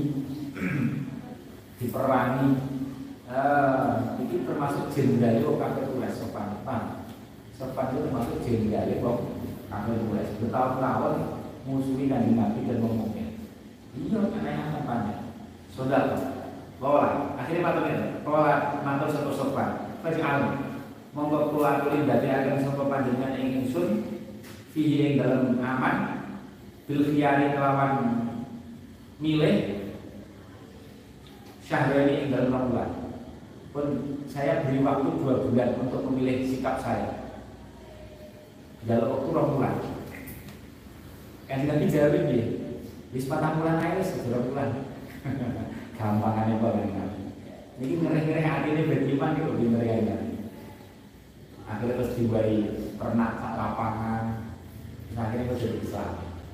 diperangi. Ini termasuk jenderal kafir Quraisy Sofwan. Sofwan itu termasuk jenderal kafir Quraisy. Bertahun-tahun musuhi Kanjeng Nabi dan ngomongnya. Iya, karena yang tempatnya. Saudara, lola. Akhirnya matur sapa Sofwan. Faj'al monggo kula aturi ndadekaken sapa panjenengan ing ingsun fihi ing dalem aman bil khiyari kelawan milih syahrani ing dalem bulan. Pun saya beri waktu 2 bulan untuk memilih sikap saya. Dalam waktu 2 bulan. Kan Nabi jawab ini, wis 4 bulan ae wis 2 bulan. Gampangane kok Nabi. Niki ngereh-ngereh atine beriman iki lebih ngereh. Akhirnya terus diwai pernak sak lapangan. Akhirnya terus jadi Islam.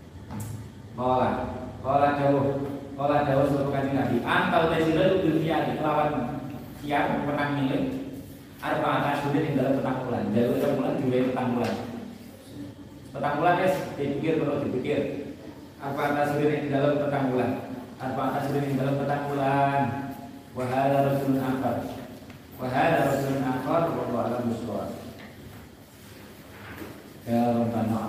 Kala dawuh sapa Kanjeng Nabi, antal tasira bil khiyari lawan yang menang milik arba'at asyhur ing dalam petang bulan. Jadi petang bulan diwe petang bulan. Petang bulan guys, dipikir. Arba'at asyhur ing dalam petang bulan. Arba'at asyhur ing dalam petang bulan. Wa hadza rasulun akhar. Wallahu a'lam bishawab. Ya Rabbana